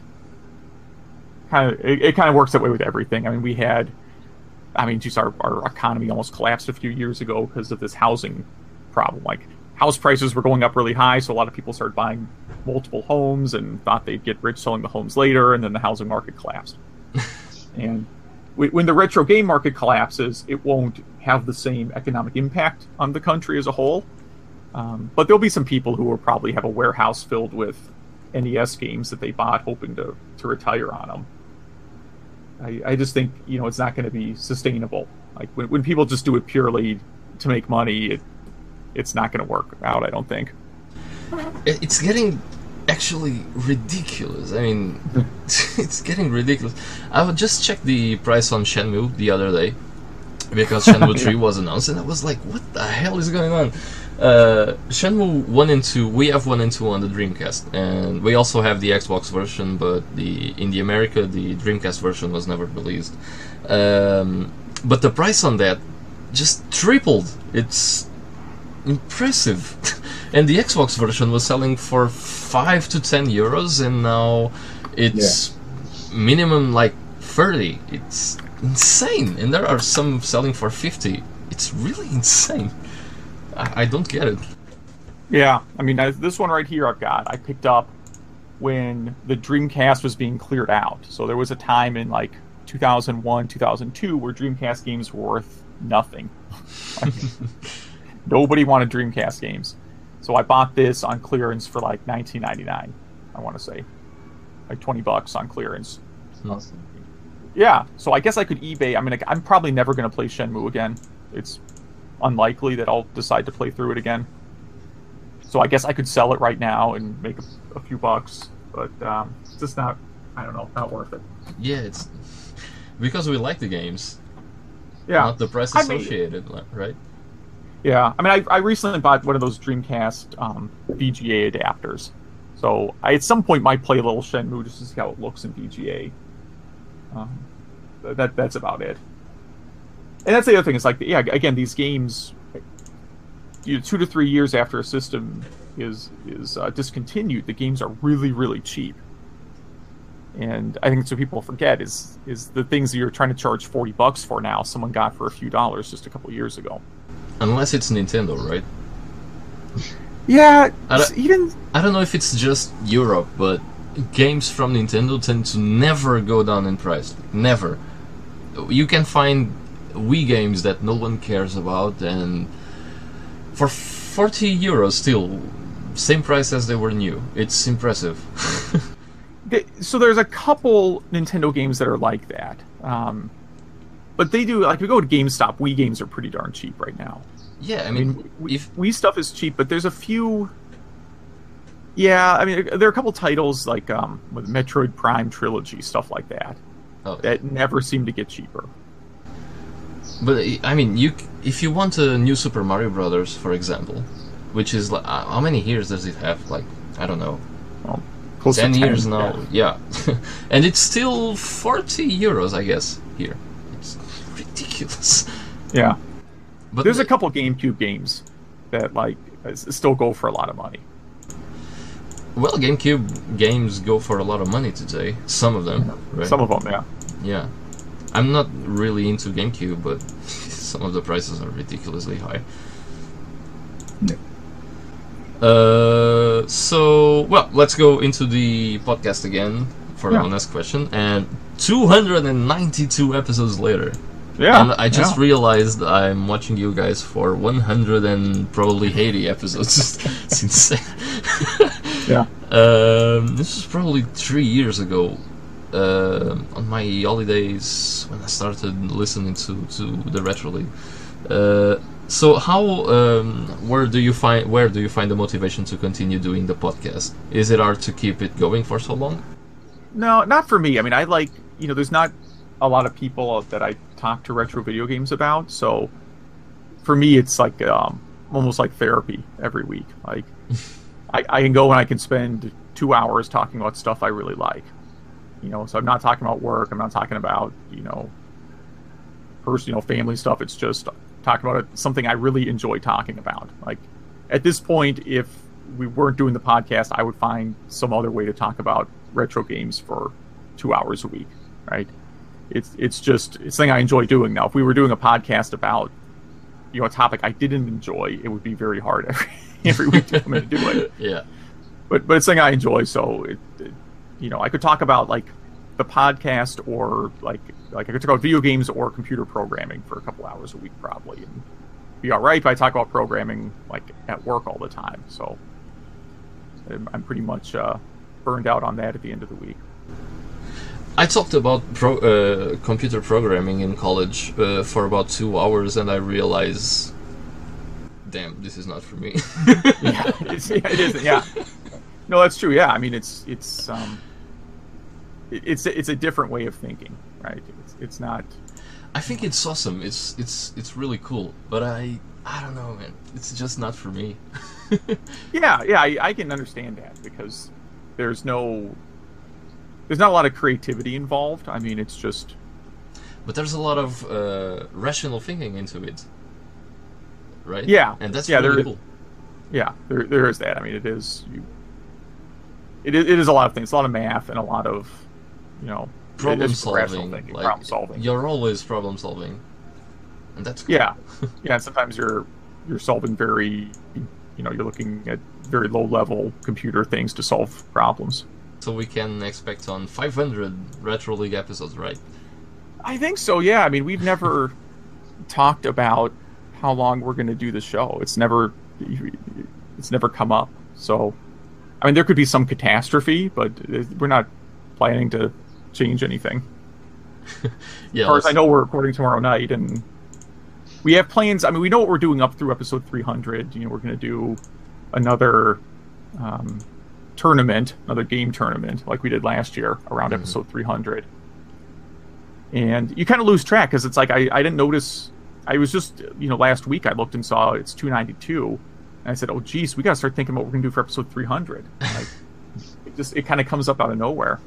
It kind of works that way with everything. I mean, just our economy almost collapsed a few years ago because of this housing problem. Like, house prices were going up really high, so a lot of people started buying multiple homes and thought they'd get rich selling the homes later, and then the housing market collapsed. And when the retro game market collapses, it won't have the same economic impact on the country as a whole. But there'll be some people who will probably have a warehouse filled with NES games that they bought hoping to retire on them. I just think, it's not going to be sustainable. Like, when people just do it purely to make money, it's not going to work out, I don't think. It's getting actually ridiculous. I mean, it's getting ridiculous. I would just check the price on Shenmue the other day, because Shenmue 3 was announced, and I was like, what the hell is going on? Shenmue 1 and 2, we have 1 and 2 on the Dreamcast, and we also have the Xbox version, but in the America, the Dreamcast version was never released. But the price on that just tripled. It's impressive. And the Xbox version was selling for 5 to 10 euros, and now it's minimum like 30. It's insane. And there are some selling for 50. It's really insane. I don't get it. Yeah, I mean, this one right here I picked up when the Dreamcast was being cleared out. So there was a time in like 2001, 2002 where Dreamcast games were worth nothing. Nobody wanted Dreamcast games. So I bought this on clearance for like $19.99, I want to say. Like $20 on clearance. Awesome. Yeah, so I guess I could eBay. I mean, I'm probably never going to play Shenmue again. It's unlikely that I'll decide to play through it again. So I guess I could sell it right now and make a few bucks, but it's just not worth it. Yeah, it's because we like the games. Yeah, not the price associated, right? Yeah, I mean, I recently bought one of those Dreamcast VGA adapters, so I at some point might play a little Shenmue just to see how it looks in VGA. That's about it. And that's the other thing. It's like, again, these games, 2 to 3 years after a system is discontinued, the games are really, really cheap. And I think that's what people forget is the things that you're trying to charge $40 for now, someone got for a few dollars just a couple years ago. Unless it's Nintendo, right? Yeah, I don't know if it's just Europe, but games from Nintendo tend to never go down in price. Never. You can find Wii games that no one cares about, and for €40 still, same price as they were new. It's impressive. So there's a couple Nintendo games that are like that. But they do, like, if you go to GameStop, Wii games are pretty darn cheap right now. Yeah, I mean if Wii stuff is cheap, but there's a few... Yeah, I mean, there are a couple titles, like, with Metroid Prime Trilogy, stuff like that, that never seem to get cheaper. But, I mean, if you want a new Super Mario Brothers, for example, which is, like, how many years does it have? Like, I don't know. Well, close 10 to 10 years now, yeah. And it's still €40, I guess, here. It's ridiculous. Yeah. But there's a couple GameCube games that, like, still go for a lot of money. Well, GameCube games go for a lot of money today. Some of them, right? Some of them, yeah. Yeah. I'm not really into GameCube, but some of the prices are ridiculously high. Yeah. So, well, let's go into the podcast again for the next question. And 292 episodes later. Yeah. And I just realized I'm watching you guys for 100 and probably 80 episodes. It's insane. Yeah. This was probably 3 years ago. On my holidays when I started listening to the Retro League. So how where do you find the motivation to continue doing the podcast? Is it hard to keep it going for so long? No, not for me. I mean, I like, there's not a lot of people that I talk to retro video games about, so for me it's like almost like therapy every week. Like I can go and I can spend 2 hours talking about stuff I really like. So I'm not talking about work. I'm not talking about, personal family stuff. It's just talking about something I really enjoy talking about. Like, at this point, if we weren't doing the podcast, I would find some other way to talk about retro games for 2 hours a week, right? It's something I enjoy doing now. If we were doing a podcast about, a topic I didn't enjoy, it would be very hard every week to come in and do it. Yeah. But it's something I enjoy, so I could talk about like the podcast or like I could talk about video games or computer programming for a couple hours a week probably, and be all right. But I talk about programming like at work all the time, so I'm pretty much burned out on that at the end of the week. I talked about computer programming in college for about 2 hours, and I realized, damn, this is not for me. Yeah, it isn't. Yeah, no, that's true. Yeah, I mean, it's a different way of thinking, right? It's not. I think it's awesome. It's really cool, but I don't know, man. It's just not for me. Yeah, I can understand that because there's not a lot of creativity involved. I mean, it's just. But there's a lot of rational thinking into it, right? Yeah, and that's really cool. Yeah, there is that. I mean, it is a lot of things, a lot of math, and a lot of, problem solving. Thinking, problem solving. You're always problem solving, and that's cool. Yeah. And sometimes you're solving very, you're looking at very low level computer things to solve problems. So we can expect on 500 Retro League episodes, right? I think so. Yeah. I mean, we've never talked about how long we're going to do the show. It's never come up. So, I mean, there could be some catastrophe, but we're not planning to change anything. Yeah, as far as I know, we're recording tomorrow night, and we have plans. I mean, we know what we're doing up through episode 300. We're going to do another tournament, another game tournament, like we did last year around episode 300. And you kind of lose track because it's like I didn't notice. I was just last week I looked and saw it's 292, and I said, "Oh, geez, we got to start thinking about what we're going to do for episode 300." Like, it kind of comes up out of nowhere.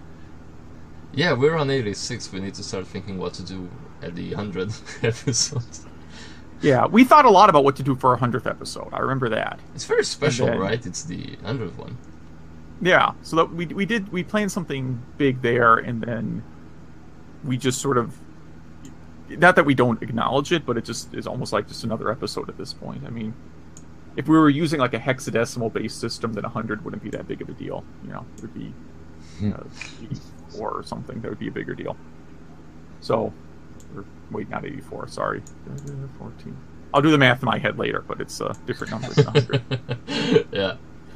Yeah, we're on 86. We need to start thinking what to do at the 100th episode. Yeah, we thought a lot about what to do for our 100th episode. I remember that. It's very special, right? It's the 100th one. Yeah, so that we planned something big there, and then we just sort of, not that we don't acknowledge it, but it just is almost like just another episode at this point. I mean, if we were using like a hexadecimal based system, then 100 wouldn't be that big of a deal. It would be 84 or something. That would be a bigger deal. So, not 84. Sorry, 14. I'll do the math in my head later, but it's a different number than 100. Yeah.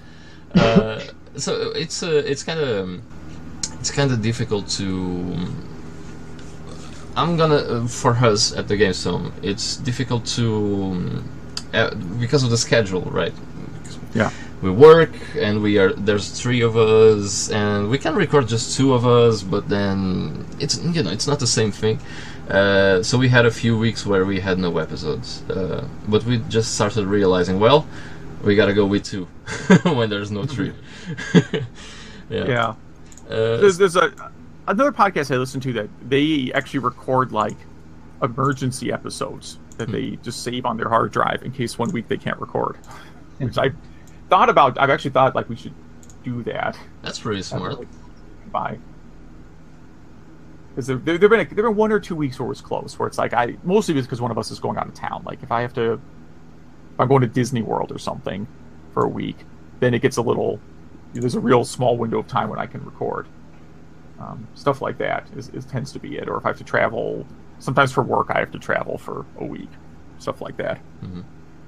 So it's kind of difficult to. I'm gonna for us at the GameStone. It's difficult to because of the schedule, right? Yeah. We work and there's 3 of us and we can record just 2 of us, but then it's not the same thing. So we had a few weeks where we had no episodes, but we just started realizing, well, we gotta go with 2 when there's no 3. Yeah. There's another podcast I listen to that they actually record like emergency episodes that they just save on their hard drive in case one week they can't record. Which I've actually thought like we should do that. That's pretty smart. Bye. Because there've been 1 or 2 weeks where it was close, where it's like mostly because one of us is going out of town. Like if I'm going to Disney World or something for a week, then it gets there's a real small window of time when I can record. Stuff like that tends to be it. Or if I have to travel, sometimes for work I have to travel for a week. Stuff like that. Mm-hmm.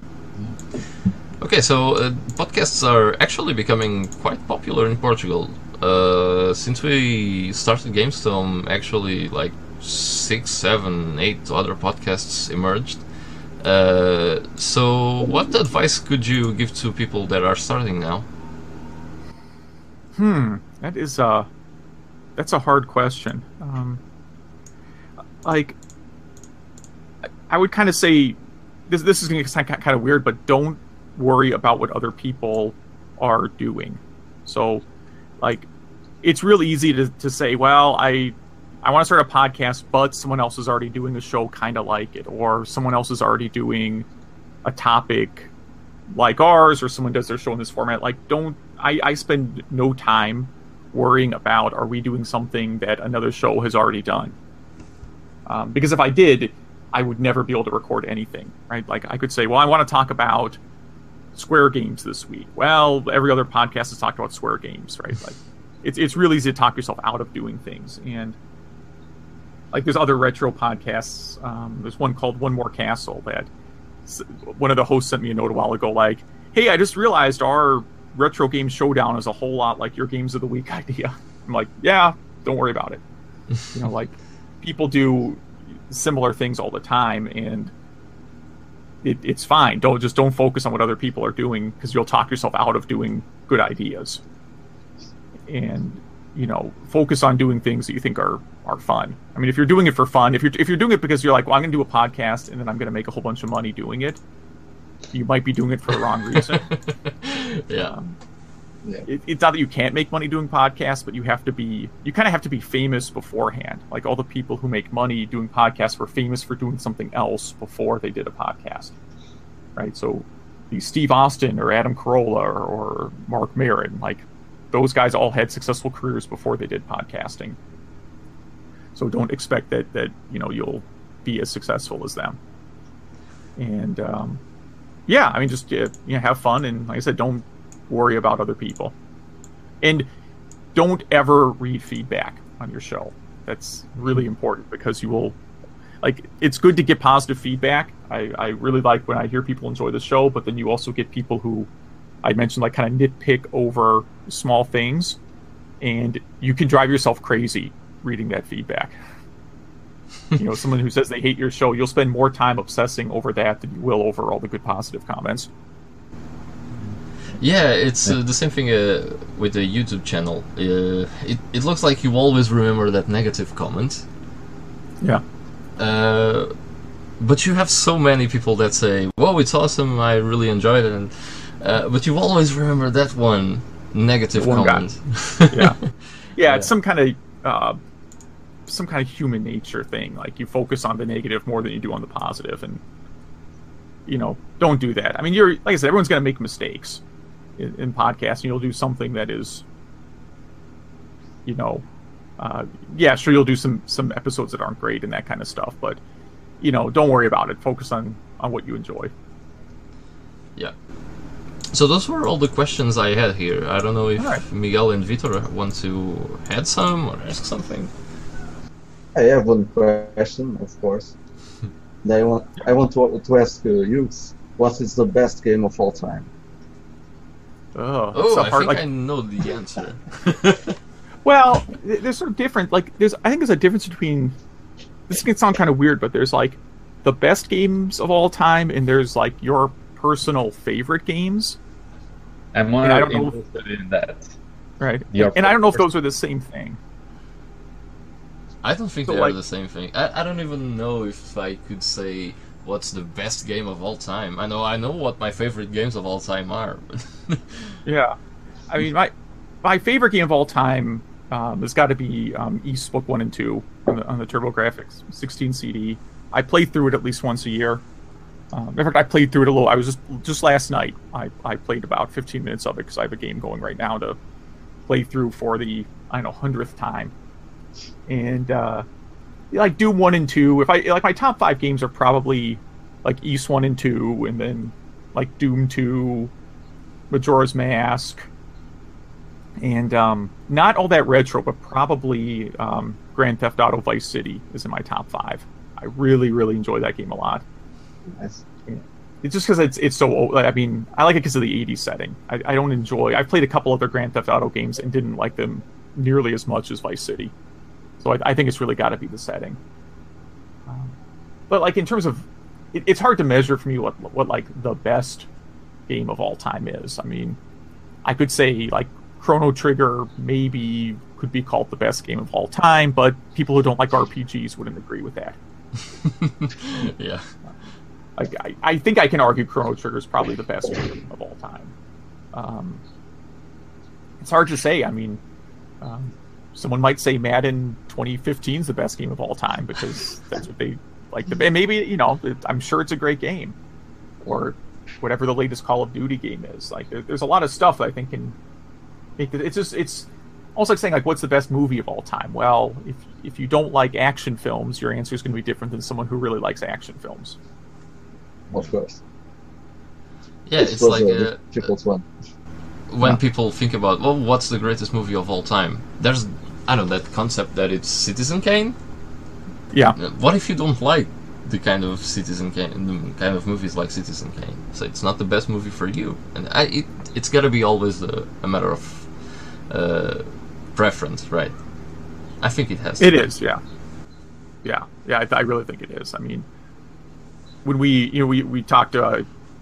Okay, so podcasts are actually becoming quite popular in Portugal. Since we started GameStone, actually like 6, 7, 8 other podcasts emerged. So what advice could you give to people that are starting now? That's a hard question. Like, I would kind of say, this is going to sound kind of weird, but don't worry about what other people are doing. So, like, it's really easy to say, well, I want to start a podcast, but someone else is already doing a show kind of like it, or someone else is already doing a topic like ours, or someone does their show in this format. Like, I spend no time worrying about, are we doing something that another show has already done? Because if I did, I would never be able to record anything, right? Like, I could say, well, I want to talk about Square Games this week. Well, every other podcast has talked about Square Games, right? Like, it's really easy to talk yourself out of doing things. And like, there's other retro podcasts. There's one called One More Castle that one of the hosts sent me a note a while ago, like, hey, I just realized our retro game showdown is a whole lot like your Games of the Week idea. I'm like, yeah, don't worry about it. Like, people do similar things all the time, and it's fine. Don't focus on what other people are doing, because you'll talk yourself out of doing good ideas. And focus on doing things that you think are fun. I mean, if you're doing it for fun, if you're doing it because you're like, well, I'm going to do a podcast and then I'm going to make a whole bunch of money doing it, you might be doing it for the wrong reason. Yeah. It's not that you can't make money doing podcasts, but you kind of have to be famous beforehand. Like, all the people who make money doing podcasts were famous for doing something else before they did a podcast, right? So, Steve Austin or Adam Carolla or Mark Maron, like, those guys all had successful careers before they did podcasting. So don't expect that you'll be as successful as them. And I mean, just have fun, and like I said, don't worry about other people, and don't ever read feedback on your show. That's really important, because you will, like, it's good to get positive feedback. I really like when I hear people enjoy the show, but then you also get people who I mentioned, like, kind of nitpick over small things, and you can drive yourself crazy reading that feedback. Someone who says they hate your show, you'll spend more time obsessing over that than you will over all the good positive comments. Yeah, it's the same thing with the YouTube channel. It looks like you always remember that negative comment. Yeah. But you have so many people that say, "Whoa, it's awesome! I really enjoyed it," and but you always remember that one negative comment. Yeah, it's some kind of human nature thing. Like, you focus on the negative more than you do on the positive, and don't do that. I mean, like I said, everyone's going to make mistakes in podcasting. You'll do something that is, sure, you'll do some episodes that aren't great and that kind of stuff, but don't worry about it. Focus on what you enjoy. Yeah. So those were all the questions I had here. I don't know if Miguel and Vitor want to add some or ask something. I have one question, of course. I want to ask you, what is the best game of all time? Oh, I think I know the answer. Well, there's sort of different. Like, I think there's a difference between. This can sound kind of weird, but there's like the best games of all time, and there's like your personal favorite games. I'm more interested in that. Right. And I don't know if those are the same thing. I don't think they are the same thing. I don't even know if I could say what's the best game of all time. I know what my favorite games of all time are. Yeah. I mean, my favorite game of all time has got to be Ys Book 1 and 2 on the TurboGrafx 16 CD. I play through it at least once a year. In fact, I played through it a little. I was just last night. I played about 15 minutes of it because I have a game going right now to play through for the 100th time. And like Doom 1 and 2. If I like my top 5 games are probably like Ys 1 and 2, and then like Doom 2, Majora's Mask, and not all that retro, but probably Grand Theft Auto Vice City is in my top 5. I really, really enjoy that game a lot. Nice. It's just because it's so old. I mean, I like it because of the 80s setting. I don't enjoy. I've played a couple other Grand Theft Auto games and didn't like them nearly as much as Vice City. So I think it's really got to be the setting. But like in terms of, it's hard to measure for me what like the best game of all time is. I mean, I could say like Chrono Trigger maybe could be called the best game of all time, but people who don't like RPGs wouldn't agree with that. Yeah. I think I can argue Chrono Trigger is probably the best game of all time. It's hard to say. I mean, someone might say Madden 2015 is the best game of all time because that's what they like. And maybe, I'm sure it's a great game. Or whatever the latest Call of Duty game is. Like, there's a lot of stuff that I think can make it. It's almost like saying, like, what's the best movie of all time? Well, if you don't like action films, your answer is going to be different than someone who really likes action films. Of course. Yeah, it's like a difficult one. When people think about, well, what's the greatest movie of all time? There's, that concept that it's Citizen Kane. Yeah. What if you don't like the kind of Citizen Kane, the kind of movies like Citizen Kane? So it's not the best movie for you, and it's got to be always a matter of preference, right? I think it has. It is, yeah. I really think it is. I mean, when we talk to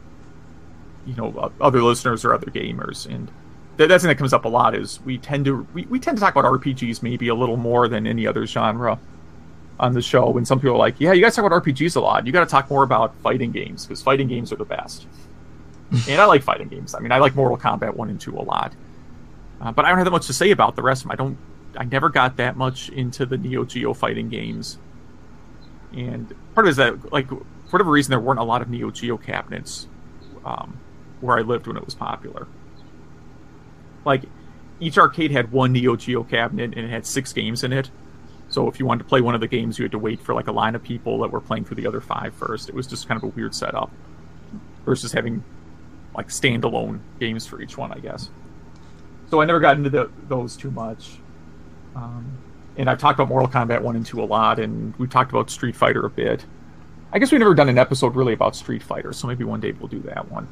other listeners or other gamers, and that's something that comes up a lot. Is we tend to talk about RPGs maybe a little more than any other genre on the show. When some people are like, "Yeah, you guys talk about RPGs a lot. You got to talk more about fighting games because fighting games are the best." And I like fighting games. I mean, I like Mortal Kombat 1 and 2 a lot, but I don't have that much to say about the rest of them. I never got that much into the Neo Geo fighting games, and part of it is that, like, for whatever reason, there weren't a lot of Neo Geo cabinets where I lived when it was popular. Like, each arcade had one Neo Geo cabinet, and it had 6 games in it. So if you wanted to play one of the games, you had to wait for like a line of people that were playing through the other 5 first. It was just kind of a weird setup versus having like standalone games for each one, I guess. So I never got into those too much. And I've talked about Mortal Kombat 1 and 2 a lot, and we've talked about Street Fighter a bit. I guess we've never done an episode really about Street Fighter, so maybe one day we'll do that one.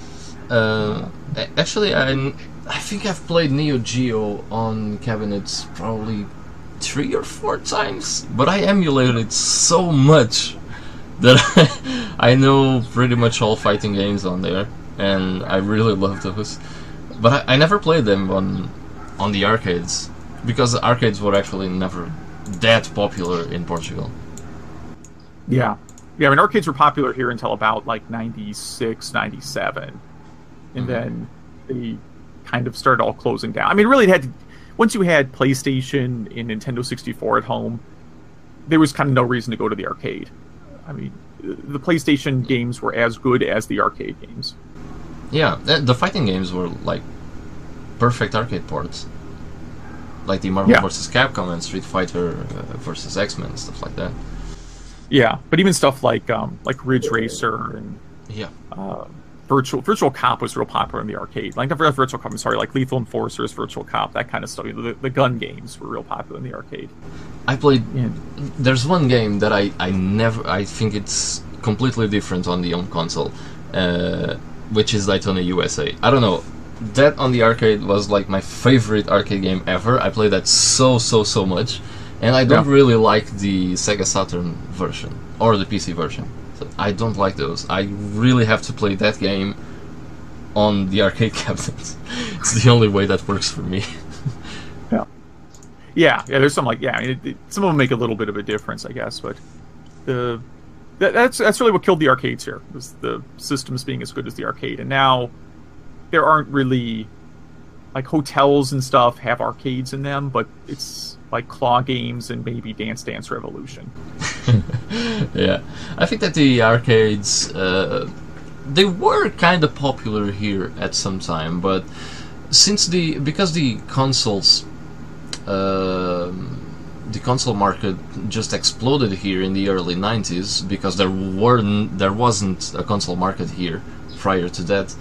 Actually, I think I've played Neo Geo on cabinets probably 3 or 4 times, but I emulated it so much that I know pretty much all fighting games on there, and I really love those. But I never played them on the arcades, because the arcades were actually never that popular in Portugal. Yeah, I mean, arcades were popular here until about like 96, 97. And then they kind of started all closing down. I mean, really, once you had PlayStation and Nintendo 64 at home, there was kind of no reason to go to the arcade. I mean, the PlayStation games were as good as the arcade games. Yeah, the fighting games were like perfect arcade ports. Like the Marvel vs. Capcom and Street Fighter vs. X-Men, stuff like that. Yeah, but even stuff like Ridge Racer and Virtual Cop was real popular in the arcade. Like, not Virtual Cop, I'm sorry, like Lethal Enforcers, Virtual Cop, that kind of stuff. The gun games were real popular in the arcade. I played. Yeah. There's one game that I think it's completely different on the home console, which is Daytona USA. I don't know. That on the arcade was like my favorite arcade game ever. I played that so much, and I don't really like the Sega Saturn version or the PC version. So I don't like those. I really have to play that game on the arcade cabinet. It's the only way that works for me. Yeah. There's some some of them make a little bit of a difference, I guess, but that's really what killed the arcades here, was the systems being as good as the arcade, and now there aren't really, like, hotels and stuff have arcades in them, but it's like Claw Games and maybe Dance Dance Revolution. Yeah, I think that the arcades, they were kind of popular here at some time, but because the consoles, the console market just exploded here in the early 90s, because there wasn't a console market here prior to that.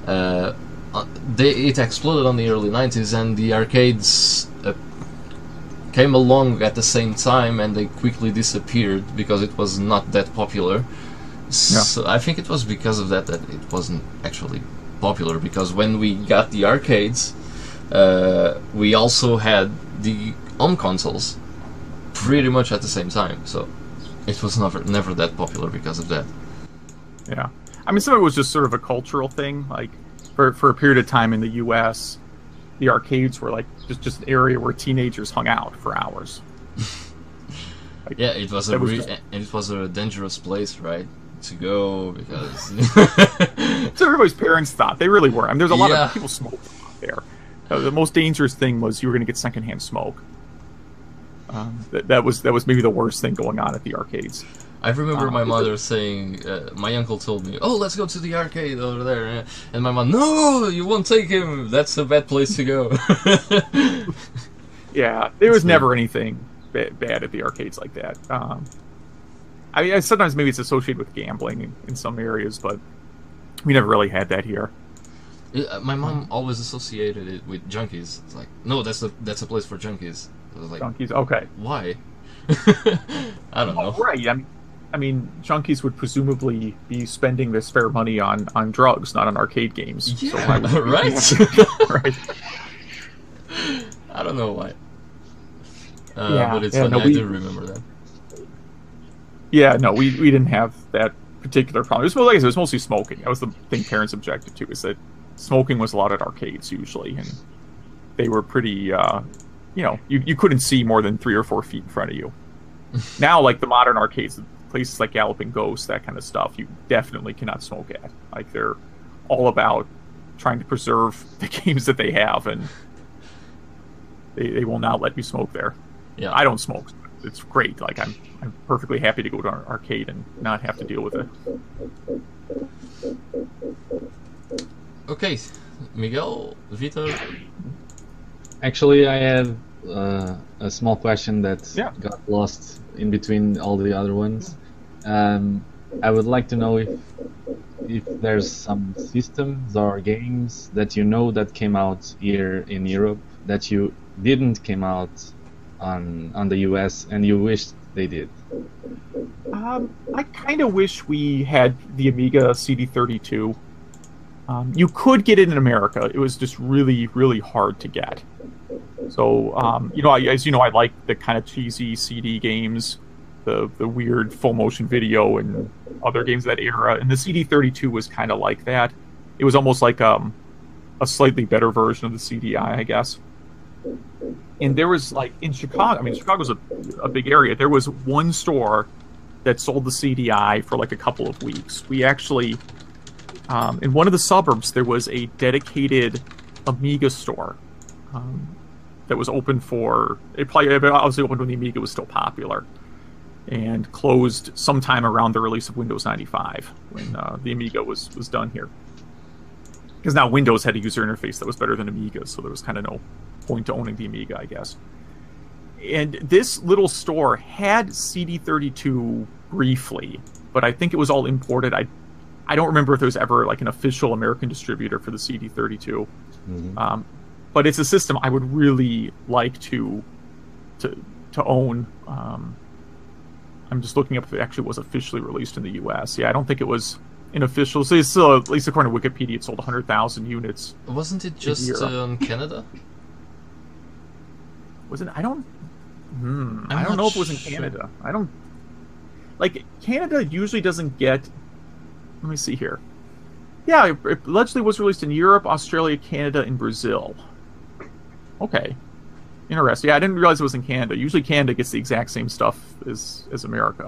It exploded on the early 90s, and the arcades came along at the same time, and they quickly disappeared because it was not that popular. So I think it was because of that it wasn't actually popular, because when we got the arcades, we also had the home consoles pretty much at the same time, so it was never that popular because of that. Yeah. I mean, some of it was just sort of a cultural thing. Like, for a period of time in the U.S., the arcades were like just an area where teenagers hung out for hours. Like, yeah, it was a dangerous place, right, to go, because so everybody's parents thought. They really were. I mean, there's a lot of people smoking there. The most dangerous thing was you were going to get secondhand smoke. That was maybe the worst thing going on at the arcades. I remember my mother saying, my uncle told me, "Oh, let's go to the arcade over there," and my mom, "No, you won't take him. That's a bad place to go." Yeah, there was never anything bad at the arcades like that. I mean, sometimes maybe it's associated with gambling in some areas, but we never really had that here. My mom always associated it with junkies. It's like, no, that's a place for junkies. I was like, junkies, okay. Why? I don't know. Right. I mean, junkies would presumably be spending their spare money on drugs, not on arcade games. Yeah, so why would right? Right. I don't know why. But it's funny. I do remember that. Yeah, no, we didn't have that particular problem. It was mostly smoking. That was the thing parents objected to, is that smoking was allowed at arcades usually, and they were pretty, you couldn't see more than 3 or 4 feet in front of you. Now, like the modern arcades, places like Galloping Ghost, that kind of stuff, you definitely cannot smoke at. Like, they're all about trying to preserve the games that they have, and they will not let you smoke there. Yeah, I don't smoke. It's great. Like, I'm perfectly happy to go to an arcade and not have to deal with it. Okay, Miguel, Vitor. Actually, I have a small question that got lost in between all the other ones. I would like to know if there's some systems or games that you know that came out here in Europe that you didn't came out on the US and you wished they did. I kind of wish we had the Amiga CD32. You could get it in America. It was just really, really hard to get. So, as you know, I like the kind of cheesy CD games, the weird full motion video and other games of that era. And the CD32 was kind of like that. It was almost like a slightly better version of the CDI, I guess. And there was, like, in Chicago, I mean, Chicago's a big area. There was one store that sold the CDI for like a couple of weeks. We actually, in one of the suburbs, there was a dedicated Amiga store that was open for, it probably obviously opened when the Amiga was still popular, and closed sometime around the release of Windows 95 when the Amiga was done here. Because now Windows had a user interface that was better than Amiga, so there was kind of no point to owning the Amiga, I guess. And this little store had CD32 briefly, but I think it was all imported. I don't remember if there was ever like an official American distributor for the CD32. Mm-hmm. But it's a system I would really like to own. I'm just looking up if it actually was officially released in the U.S. Yeah, I don't think it was an official. So it's still, at least according to Wikipedia, it sold 100,000 units. Wasn't it just in Canada? Was it? I don't know if it was in Canada. I don't. Like, Canada usually doesn't get... Let me see here. Yeah, it allegedly was released in Europe, Australia, Canada, and Brazil. Okay. Interesting. Yeah, I didn't realize it was in Canada. Usually Canada gets the exact same stuff as America.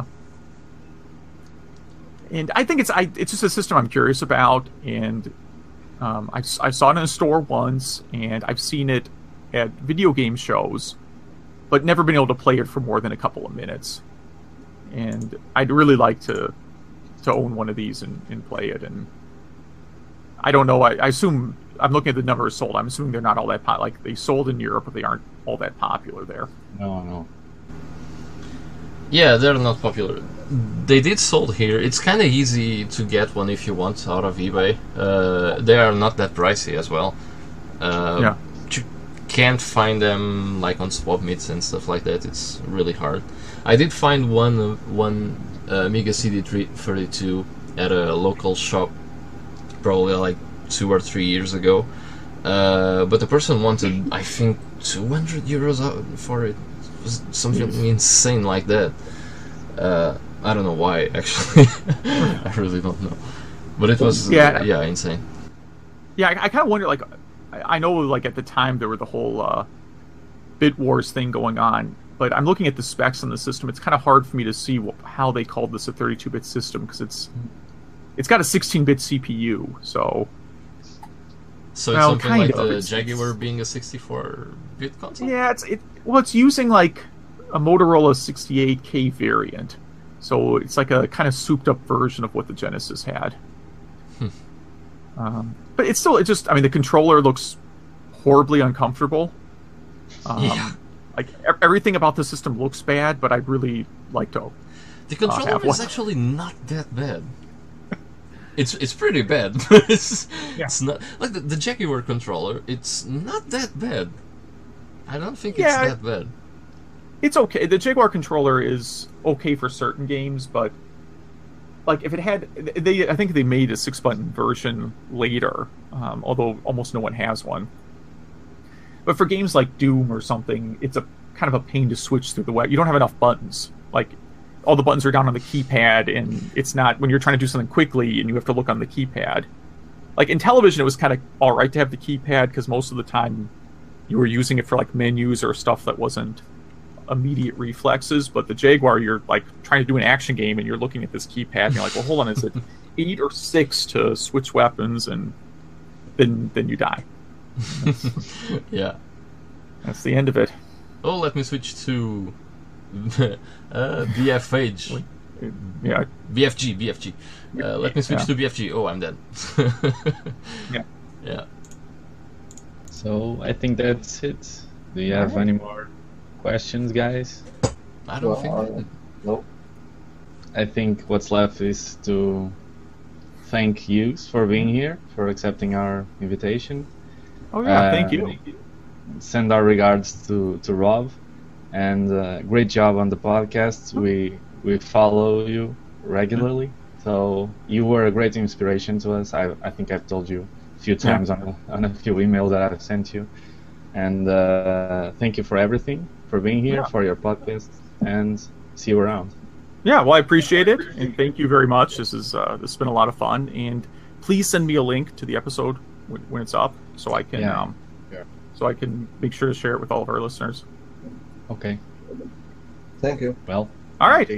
And I think it's just a system I'm curious about, and I saw it in a store once, and I've seen it at video game shows, but never been able to play it for more than a couple of minutes. And I'd really like to own one of these and play it. And I don't know. I assume, I'm looking at the numbers sold. I'm assuming they're not all that like they sold in Europe, but they aren't all that popular there. No. Yeah, they're not popular. They did sold here. It's kind of easy to get one if you want out of eBay. They are not that pricey as well. Yeah. You can't find them like on swap meets and stuff like that. It's really hard. I did find one Amiga CD32 at a local shop, probably like 2 or 3 years ago. But the person wanted, I think, €200 for it. It was something insane like that. I don't know why, actually. I really don't know. But it was, insane. Yeah, I kind of wonder, like, I know, like, at the time there were the whole Bit Wars thing going on, but I'm looking at the specs on the system. It's kind of hard for me to see how they called this a 32-bit system, because it's got a 16-bit CPU, so... So it's something like the Jaguar being a 64-bit console? Yeah, it's using, like, a Motorola 68K variant. So it's like a kind of souped-up version of what the Genesis had. But it's still, the controller looks horribly uncomfortable. Like, everything about the system looks bad, but I'd really like to The controller is actually not that bad. It's pretty bad. It's not like the Jaguar controller. It's not that bad. I don't think it's that bad. It's okay. The Jaguar controller is okay for certain games, but like if it had, I think they made a 6-button version later, although almost no one has one. But for games like Doom or something, it's a kind of a pain to switch through the web. You don't have enough buttons. Like, all the buttons are down on the keypad, and it's not, when you're trying to do something quickly and you have to look on the keypad. Like, in television, it was kind of alright to have the keypad, because most of the time you were using it for, like, menus or stuff that wasn't immediate reflexes. But the Jaguar, you're, like, trying to do an action game, and you're looking at this keypad, and you're like, well, hold on, is it 8 or 6 to switch weapons? And then you die. Yeah. That's the end of it. Oh, let me switch to BFH. Yeah. BFG. Let me switch to BFG. Oh, I'm dead. Yeah. So I think that's it. Do you have any more questions, guys? I don't think. Nope. I think what's left is to thank you for being here, for accepting our invitation. Oh yeah, thank you. Send our regards to Rob, and great job on the podcast. We follow you regularly, so you were a great inspiration to us. I think I've told you a few times on a few emails that I've sent you, and thank you for everything, for being here, for your podcast, and see you around. Yeah, well, I appreciate it, and thank you very much. This has been a lot of fun, and please send me a link to the episode when it's up, so I can so I can make sure to share it with all of our listeners. Okay. Thank you. Well. All right.